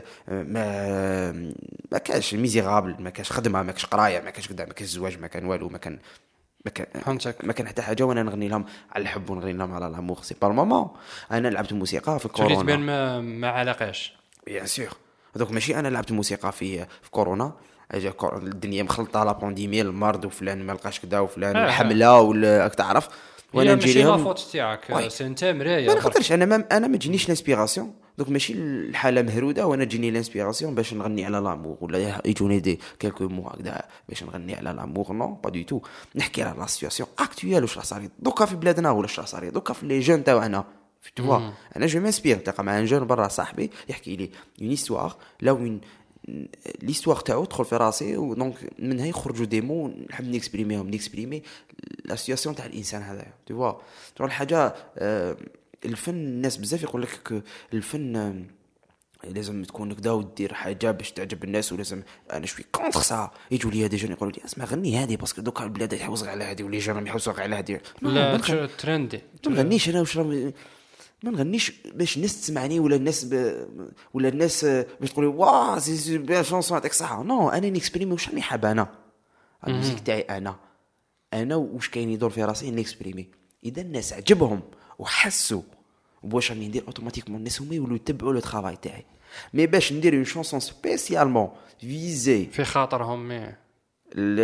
ما ما كاش ميزيرابل ما كاش خدمه ما كاش قرايه ما كاش كذا ما كاش زواج ما كان والو ما كان ما كان ما كان حتى حاجه وانا نغني لهم على الحب ونغني لهم على الامور سي با المومون. انا لعبت موسيقى في كورونا تولي تبان ما ما علاقاش بيان سور. دونك ماشي انا لعبت موسيقى في في كورونا اجا الدنيا مخلطه لا بانديمي المرض وفلان ما لقاش كذا وفلان الحمله ولا راك تعرف وانا نجي لهم ماشي لافوت تاعك سي انت مرايه ما نقدرش انا ما انا ما تجينيش الانسبيراسيون. دونك ماشي الحاله مهروده وانا تجيني الانسبيراسيون باش نغني على لامور ولا يجوني دي كلكو مو هكذا باش نغني على لامور. نو با دو تو نحكي على لا سيتواسيون اكطويل واش راه صاري دوكا في بلادنا ولا واش راه صاري دوكا في لي جون تاعنا tu vois. انا جو مانسبير تلقى مع ان جون برا صاحبي يحكي لي اون هيستوار لا وين ليستوار تاعو تدخل في راسي ودونك منها يخرجوا دي مو نحب نيكسبريميهم نيكسبريمي لا سيتواسيون تاع الانسان هذا tu vois. تقول حاجه الفن الناس بزاف يقول لك الفن لازم تكون كذا ودير حاجه باش تعجب الناس ولازم انا شوي كونتر سا. يجوا لي دي جون يقولوا لي اسمع غني هذه باسكو دوكا البلاد يحوسوا على هذه ولي جون يحوسوا على هذه لا ترندي ما نغنيش انا واش ما نغنيش باش الناس تسمعني ولا الناس ب... ولا الناس باش تقولي واه سي بيان شونسون تاعك صح. نو انا نيكسبريمي واش راني حاب انا الموسيقى تاعي انا انا واش كاين يدور في راسي نيكسبريمي. اذا الناس عجبهم وحسوا واش راني ندير اوتوماتيكمون الناس هما يولوا يتبعوا لو طرافاي تاعي. مي باش ندير اون شونسون سبيسيالمون فيزي في خاطرهم مي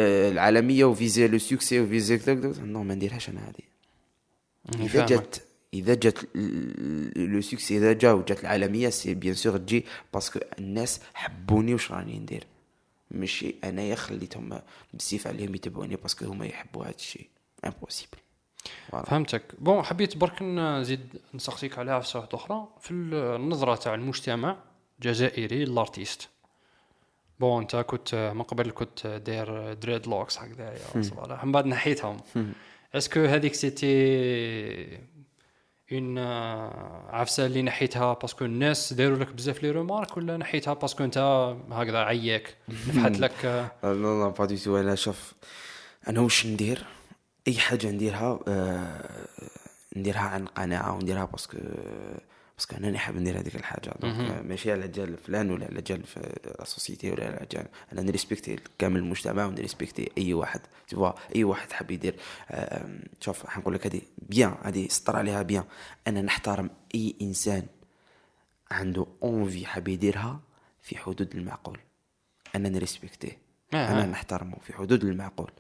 العالميه وفيزي لو سوكسي وفيزي نو ما نديرهاش انا هذه. اذا جات اذا جات لو سوكسي اذا جا وجات العالميه سي بيان سور تجي باسكو الناس حبوني واش راني ندير ماشي انايا خليتهم بزيف عليهم يتبعوني باسكو هما يحبوا هذا الشيء امبوسيبل. فهمتك. بون حبيت برك نزيد نسقسيك عليها في صوت اخرى في النظره تاع المجتمع الجزائري للارتيست. بون انت كنت من قبل كنت داير دريد لوكس هكذايا صراحه من بعد نحيتهم. اسكو هذيك سيتي اون عفسه اللي نحيتها باسكو الناس داروا لك بزاف لي رومارك ولا نحيتها باسكو انت هكذا عياك نفحت لك؟ لا لا با دي تو. انا شوف انا واش ندير اي حاجه نديرها آه نديرها عن قناعه ونديرها باسكو باسكو انا نحب ندير هذيك الحاجه دونك ماشي على جال فلان ولا على جال في لا سوسيتي ولا على جال. انا نريسبكتي كامل المجتمع ونريسبكتي اي واحد تبوا اي واحد حاب يدير آه شوف حنقول لك هذه بيان هذه سطر عليها بيان. انا نحترم اي انسان عنده اونفي حاب يديرها في حدود المعقول. انا نريسبكتيه انا نحترمه في حدود المعقول.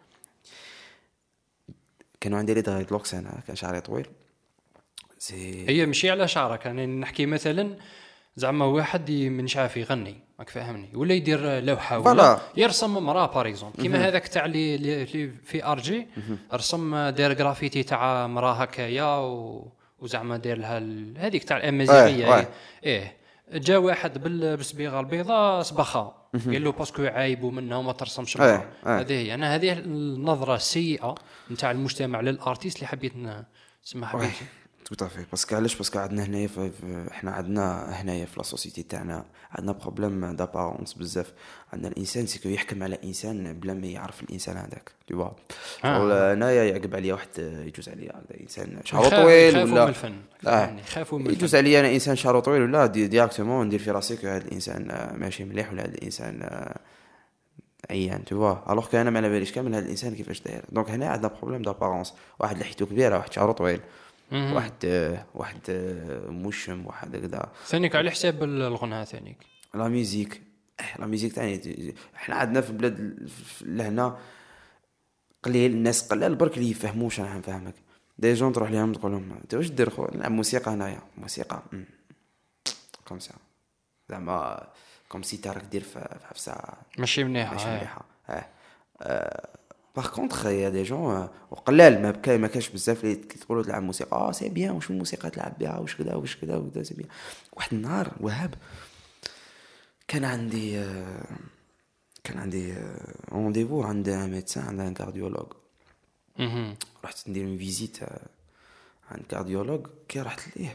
كانوا عندي لي دايت لوكس انا كان شعري طويل سي هي ماشي على شعرك. انا يعني نحكي مثلا زعما واحد مانيش عارف يغني راك فاهمني ولا يدير لوحه ولا يرسم مراه باغ اكزومبل كيما هذاك تاع اللي في ارجي رسم داير غرافيتي تاع مراه هكايا وزعما داير لها هذيك تاع الامازيغيه. ايه, إيه. جا واحد بالصبيغه البيضاء صبخها قال له باسكو عايبوا منها وما ترسمش مراه. هذه هي انا هذه النظره السيئه نتاع المجتمع للارتيست اللي حبيت نسمح بها. توتافي باسكو علاش باسكو عندنا هنايا احنا عندنا هنايا في لا سوسيتي تاعنا عندنا بروبليم دابارونس بزاف. عندنا الانسان سيكو يحكم على انسان بلا ما يعرف الانسان هذاك تو فوا. ولا انايا يعقب عليا واحد يجوز عليا هذا انسان شعره طويل ولا يعني خافوا من يجوز عليا انا انسان شعره طويل ولا دي ديريكتومون ندير في راسي هذا الانسان ماشي مليح ولا هذا الانسان عيان تو فوا. الوغ كان انا ما على باليش كامل هذا الانسان كيفاش داير. دونك هنا عندنا بروبليم دابارونس. واحد لحيته كبيره واحد شعره طويل واحد واحد مشم واحد هكذا ثانيك على حساب الغناء ثانيك لا ميوزيك لا ميوزيك تاني. احنا عندنا في بلاد لهنا قليل الناس قلال برك اللي يفهموش. انا نفهمك دي جون تروح لهم تقول لهم انت واش دير خو نلعب موسيقى هنايا موسيقى كوم سا زعما كوم سي تارك دير في حفصه ماشي مليحه ماشي مليحه اه باغ كونطخ يا دي جون وقلال ما بكا ما كاش بزاف اللي تقولوا تلعب موسيقى اه سي بيان واش الموسيقى تلعب بها واش كذا واش كذا وكذا سي بيان. واحد النهار وهاب كان عندي كان عندي رونديفو عند ميدسان عند ان كارديولوج. رحت ندير اون فيزيت عند كارديولوج. كي رحت ليه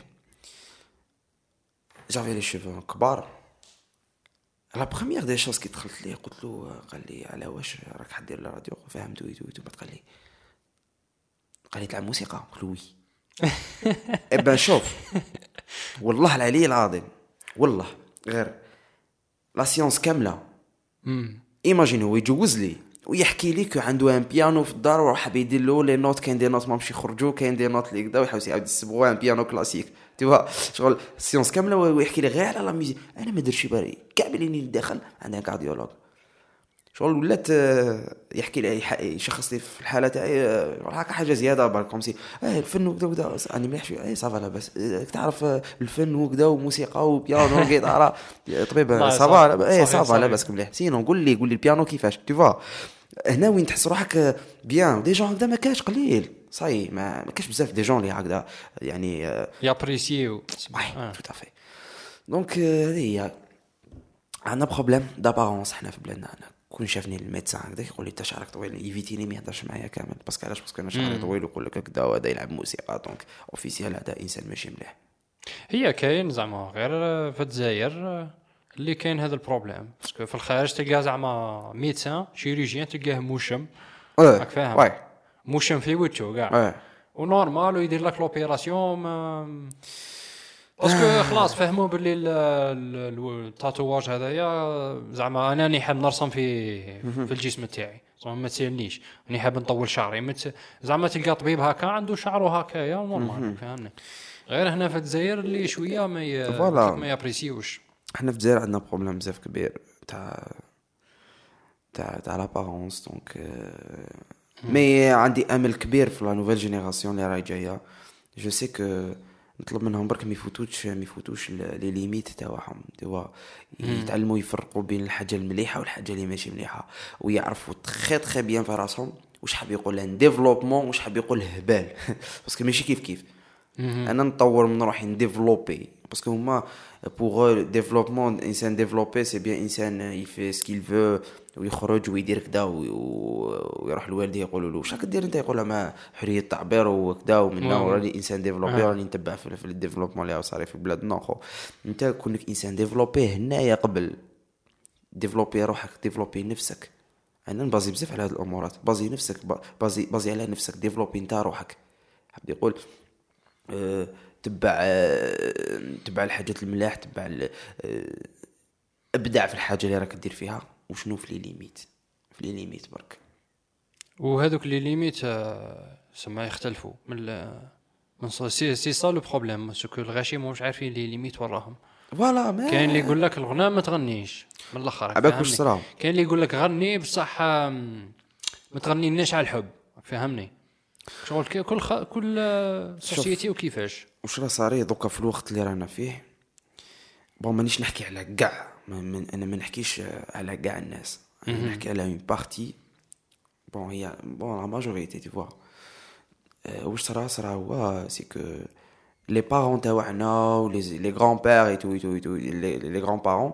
جافي لي شيفو كبار. لا بروميير دي شوز كي دخلت ليه قلت له قال لي على واش راك حدير الراديو فهمت ويتو ويتو قال لي قال لي تلعب موسيقى قلت له وي. ابا شوف والله العلي العظيم والله غير لا سيونس كامله ايماجين هو يجوز لي ويحكي لك عنده ان بيانو في الدار وراح يدير له لي نوت كاين دي نوت ما مشي يخرجوا كاين دي نوت اللي كذا ويحاول يعاود يسبغوا ان بيانو كلاسيك تيوا شغل سيونس كامله ويحكي لي غير على لا ميوزيك. انا ما درتش بالي كاع بليني داخل عندها كارديولوج شغل ولات يحكي لي يشخص لي في الحاله تاعي هكا حاجه زياده بالكم سي اه الفن وكذا وكذا انا مليح شويه اي صافا لاباس تعرف الفن وكذا وموسيقى وبيانو وغيتار طبيب صافا اي صافا لاباس مليح. سينو قول لي قول لي البيانو كيفاش تيوا هنا وين تحس روحك بيان. دي جون هكذا ما كاش قليل صاي ما ما كاش بزاف دي جون اللي هكذا يعني يابريسيو اه تو افي. دونك هذه عندنا بروبليم دابارونس احنا في بلادنا. انا كون شافني الميدسان هكذا يقول لي انت شعرك طويل يفيتيني ما يهضرش معايا كامل باسكو علاش باسكو انا شعري طويل ويقول لك هكذا وهذا يلعب موسيقى دونك اوفيسيال هذا انسان ماشي مليح. هي كاين زعما غير في الجزائر اللي كاين هذا البروبليم باسكو في الخارج تلقى زعما ميدسان شيروجيان تلقاه موشم راك فاهم موشم في وجهه كاع ونورمال ويدير لك لوبيراسيون باسكو خلاص فهموا باللي التاتواج هذايا زعما انا راني حاب نرسم في في الجسم تاعي زعما ما تسالنيش راني حاب نطول شعري مت... زعما تلقى طبيب هكا عنده شعره هكايا نورمال فهمني. غير هنا في الجزائر اللي شويه ما ي... ما يابريسيوش. احنا في الجزائر عندنا بروبليم بزاف كبير تاع تاع تاع لابارونس دونك مي عندي امل كبير في لا نوفيل جينيراسيون اللي راهي جايه جو سي كو نطلب منهم برك ما يفوتوش ما يفوتوش لي ليميت تاعهم، توا يتعلموا يفرقوا بين الحاجه المليحه والحاجه اللي ماشي مليحه، ويعرفوا تخي تخي بيان في راسهم واش حاب يقول ان ديفلوبمون واش حاب يقول هبال. باسكو ماشي كيف كيف انا نطور من روحي نديفلوبي، باسكو هما بوغ ديفلوبمون انسان ديفلوبي سي بيان انسان يفي سكيل فو ويخرج ويدير كدا ويروح لوالديه يقولوا له واش راك دير انت، يقول له ما حريه التعبير وكذا ومنا وراني انسان ديفلوبي راني نتبع في الديفلوبمون اللي صار في بلادنا. خو انت كونك انسان ديفلوبي هنايا قبل ديفلوبي روحك ديفلوبي نفسك. انا نبازي بزاف على هذه الامورات، بازي نفسك بازي بازي على نفسك ديفلوبي نتا روحك. حاب يقول أه تبع أه تبع الحاجات الملاح، تبع أه ابدع في الحاجه اللي راك دير فيها، وشنو في لي ليميت في لي ليميت برك. وهذوك لي ليميت سما يختلفوا من من سي سي سا لو بروبليم، سكو الغاشي مش عارفين لي ليميت وراهم. فوالا ما كاين اللي يقول لك الغناء ما تغنيش من الاخر، عباك واش صرا. كاين اللي يقول لك غني بصح ما تغنيناش على الحب، فهمني شغل كل خ... كل سوسيتي وكيفاش واش راه صاري دوكا في الوقت اللي رانا فيه. بون مانيش نحكي على كاع من انا ما نحكيش على كاع الناس، انا نحكي على اون بارتي. بون هي بون لا ماجوريتي تي فوا واش صرا صرا هو سي كو لي بارون تاعنا و لي لي غران بير اي تو اي تو اي تو لي لي غران بارون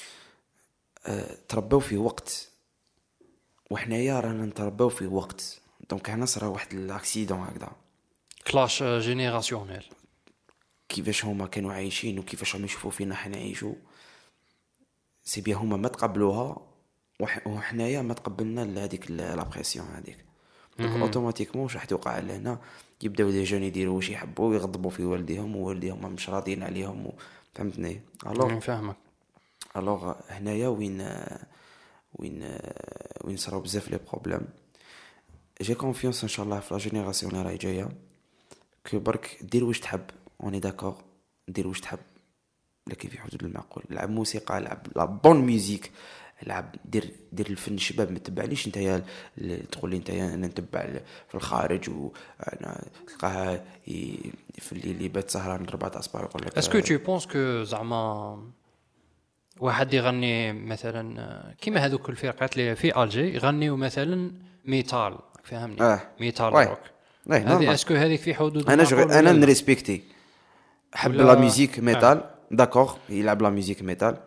تربوا في وقت وحنايا رانا نتربوا في وقت. دونك هنا صرا واحد الاكسيدون هكذا، كلاش جينيراسيونيل. كيفاش هما كانوا عايشين وكيفاش هم يشوفوا فينا حنا نعيشوا، سي بيان هما ما تقبلوها وحنايا ما تقبلنا لهذيك لا بريسيون هذيك. دونك اوتوماتيكمون واش راح توقع لهنا، يبداو دي جون يديروا واش يحبوا ويغضبوا في والديهم ووالديهم مش راضيين عليهم، فهمتني. الوغ فاهمك. الوغ هنايا وين وين وين صراو بزاف لي بروبليم. جي كونفيونس ان شاء الله في لا جينيراسيون اللي راهي جايه، كو برك دير واش تحب، اوني داكور، دير واش تحب لكن في حدود المعقول. لعب موسيقى، لعب لا بون ميوزيك، لعب دير دير الفن الشباب. ما تبعنيش نتايا تقول لي نتايا انا نتبع في الخارج وانا تلقاها في اللي اللي بات سهران ربعة اصبع يقول لك. اسكو تو بونس كو زعما واحد يغني مثلا كيما هذوك الفرقات اللي في الجي يغنيوا مثلا ميتال، فهمني؟ آه. ميتال واي. روك. واي هذه اسكو هذيك في حدود انا جغ... انا نريسبكتي حب لا ميوزيك ميتال. آه. داكوغ يلعب لا ميوزيك ميتال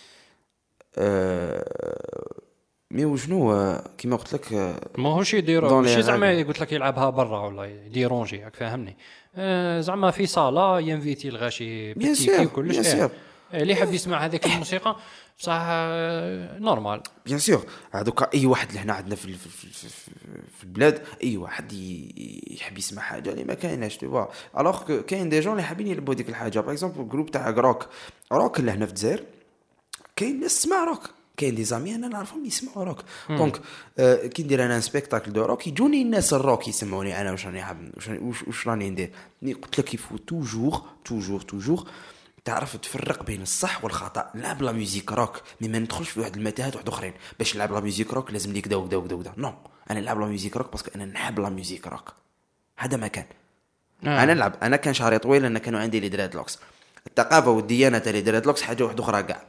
أه... مي وشنو كيما قلت لك ماهوش يديروا ماشي زعما قلت لك يلعبها برا ولا يديرونجي، فاهمني؟ أه زعما في صاله ينفيتي الغاشي بتيكي وكلش إيه. اللي حاب يسمع هذيك الموسيقى بصح نورمال بيان سور. هذوك اي واحد اللي هنا عندنا في في, في, في البلاد اي واحد يحب يسمع حاجه اللي ما كايناش تو فوا. الوغ كاين دي جون اللي حابين يلبوا ديك الحاجه. باغ اكزومبل جروب تاع روك روك اللي هنا في الجزائر كاين ناس تسمع روك، كاين دي زامي انا نعرفهم يسمعوا روك. دونك آه كي ندير انا سبيكتاكل دو روك يجوني الناس الروك يسمعوني انا واش راني حاب واش واش راني ندير. قلت لك يفو توجور توجور توجور تعرف تفرق بين الصح والخطا. نلعب لا ميوزيك روك مي ما ندخلش في واحد المتاهات واحد اخرين. باش نلعب لا ميوزيك روك لازم لي كدا وكدا وكدا وكدا. نو انا نلعب لا ميوزيك روك باسكو انا نحب لا ميوزيك روك. هذا ما كان آه. انا نلعب انا كان شعري طويل لان كانوا عندي لي دراد لوكس. الثقافه والديانه تاع لي دراد لوكس حاجه واحده اخرى كاع.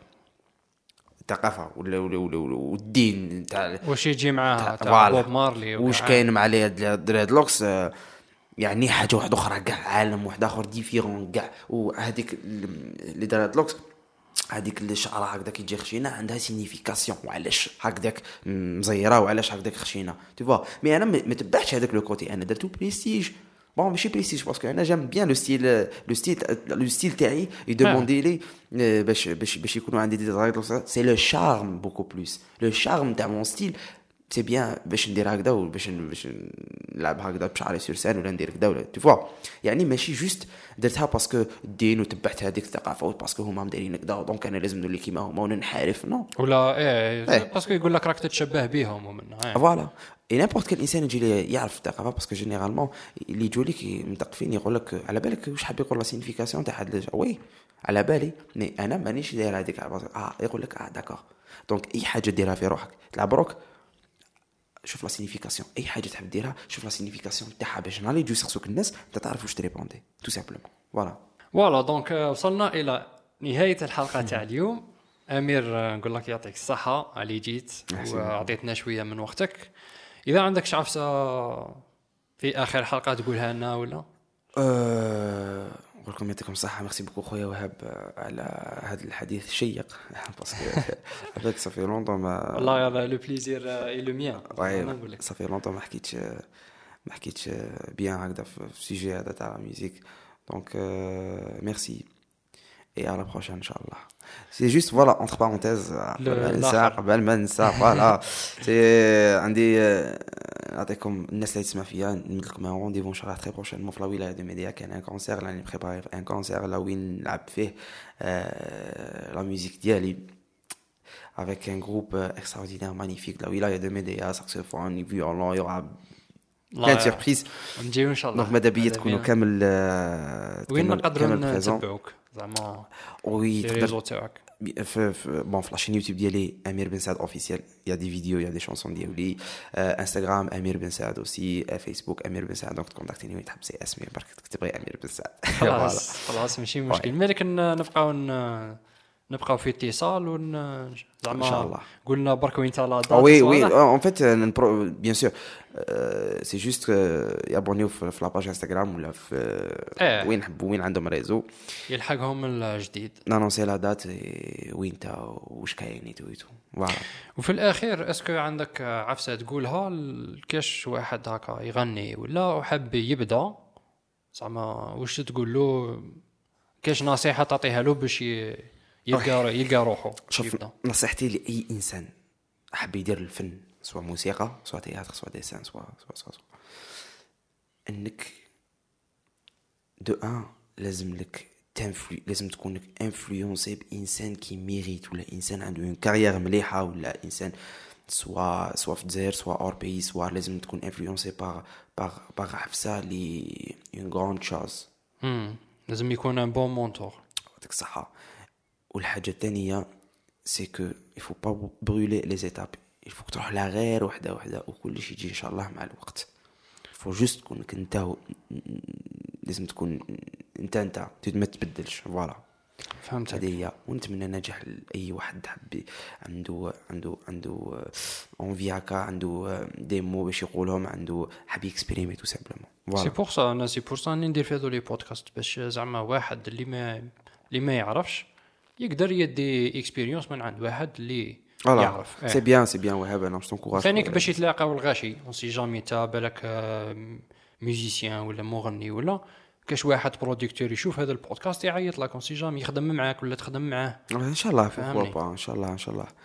الثقافه ولا ولا والدين تاع واش يجي معاها تاع بوب مارلي واش كاين مع لي دراد لوكس يعني حاجه واحده اخرى كاع، عالم واحد اخر ديفيرون كاع. وهذيك اللي دارت لوكس هذيك الشعره هكذا كي تجي خشينه عندها سينيفيكاسيون وعلاش هكذاك مزيره وعلاش هكذاك خشينه تو فوا. مي انا ما تبعتش هذاك لو كوتي، انا درتو بريستيج. بون ماشي بريستيج باسكو انا جام بيان لو ستيل لو ستيل لو ستيل تاعي يدوموندي لي باش باش باش يكونوا عندي دي درايت. سي لو شارم بوكو بلوس لو شارم تاع مون ستيل. سي بيان باش ندير هكذا وباش باش نلعب هكذا بشعري سورسان ولا ندير كذا ولا تو فوا. يعني ماشي جوست درتها باسكو الدين وتبعت هذيك الثقافه باسكو هما مديرين كذا دونك انا لازم نولي كيما هما وننحرف. نو ولا ايه, إيه. باسكو يقول لك راك تتشبه بهم ومن فوالا. اي نيمبورت كل انسان يجي لي يعرف الثقافه باسكو جينيرالمون اللي يجوا لك متقفين يقول لك على بالك واش حاب يقول لا سينيفيكاسيون تاع هذا. وي على بالي مي انا مانيش داير هذيك اه يقول لك اه داكور. دونك اي حاجه ديرها في روحك تلعب روك شوف لا سينيفيكاسيون اي حاجه تحب ديرها شوف لا سينيفيكاسيون تاعها باش نهار يجوا يسقسوك الناس انت تعرف واش تريبوندي تو سامبلومون فوالا. فوالا دونك وصلنا الى نهايه الحلقه تاع اليوم. امير آه، نقول لك يعطيك الصحه على جيت وعطيتنا شويه من وقتك. اذا عندك شي عفسه في اخر الحلقه تقولها لنا ولا أه... نقول لكم يعطيكم الصحه. ميرسي بوكو خويا وهاب على هذا الحديث الشيق باسكو هذاك صافي لونطون ما والله لو بليزير اي لو ميان. نقول لك صافي لونطون ما حكيتش ما حكيتش بيان هكذا في السوجي هذا تاع الميوزيك. دونك ميرسي et à la prochaine inchallah. C'est juste voilà entre parenthèses قبل ما ننسى voilà c'est عندي نعطيكم الناس اللي تسمع فيا نمد لكم رونديفو ان شاء الله تري بروشين في الولايه دو ميديا. كان ان كونسير راني بريباري ان كونسير لا وين نلعب فيه لا ميوزيك ديالي avec un groupe extraordinaire magnifique la ولايه دو ميديا saxophone violon. Il y aura كانت سيربريز نجيو ان شاء الله. دونك ماذا بيا تكونوا كامل وين نقدروا نتبعوك زعما وي الريزو تاعك في بون في لاشين يوتيوب ديالي امير بن سعد اوفيسيال. يا دي فيديو يا دي شانسون ديالي. انستغرام امير بن سعد اوسي. فيسبوك امير بن سعد. دونك تكونتاكتيني وين تحب سي اسمي برك تكتب غير امير بن سعد. خلاص خلاص ماشي مشكل. مالك نبقاو نبقاو في اتصال ون زعما ان شاء الله. قلنا برك وين تاع لا دات. وي وي ان فيت بيان سور سي جوست يابونيو في لا باج انستغرام ولا في اه. وين حبوا وين عندهم ريزو يلحقهم الجديد نانونسي لا دات وين تا واش كاين تو تو فوالا. وفي الاخير اسكو عندك عفسه تقولها كاش واحد هكا يغني ولا حب يبدا زعما واش تقول له كاش نصيحه تعطيها له باش يلقى يلقى روحه؟ شوف نصيحتي لاي انسان حاب يدير الفن سواء موسيقى سواء تياتر سواء ديسان سواء سواء سواء انك دو ان لازم لك تنفلو لازم تكون انفلونسي بانسان كي ميريت ولا انسان عنده اون كارير مليحه ولا انسان سواء سواء في الجزائر سواء اور بي سواء لازم تكون انفلونسي باغ باغ باغ عفسه لي اون غراند شوز. امم لازم يكون ان بون مونتور. يعطيك الصحه. والحاجه الثانيه سي كو يفو با برولي لي زيتاب. يفوك تروح لها غير وحده وحده وكل شيء يجي ان شاء الله مع الوقت. فو جوست تكون انت لازم تكون انت انت ما تبدلش فوالا. فهمت هذه هي. ونتمنى نجاح لاي واحد حب عنده عنده عنده اونفي هكا عنده ديمو باش يقولهم عنده حاب يكسبيريمي تو سامبلومون فوالا. سي بور سا انا سي بور سا ندير في هذو لي بودكاست باش زعما واحد اللي ما اللي ما يعرفش يقدر يدي اكسبيريونس من عند واحد اللي يعرف. سي بيان سي بيان وهاب انا نكونكوراج ثانيك باش يتلاقاو الغاشي اون سي جامي تا بالك ميوزيسيان ولا مغني ولا كاش واحد بروديكتور يشوف هذا البودكاست يعيط لك اون سي جامي يخدم معاك ولا تخدم معاه ان شاء الله. فوق ان شاء الله ان شاء الله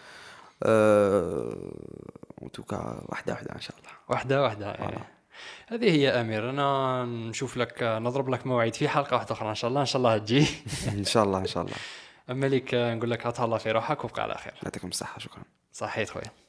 ان توكا واحده واحده ان شاء الله واحده واحده. هذه هي امير. انا نشوف لك نضرب لك موعد في حلقه واحده اخرى ان شاء الله ان شاء الله تجي ان شاء الله ان شاء الله. اما ليك نقول لك هتهلا في روحك وبقى على خير. يعطيكم الصحه. شكرا. صحيت خويا.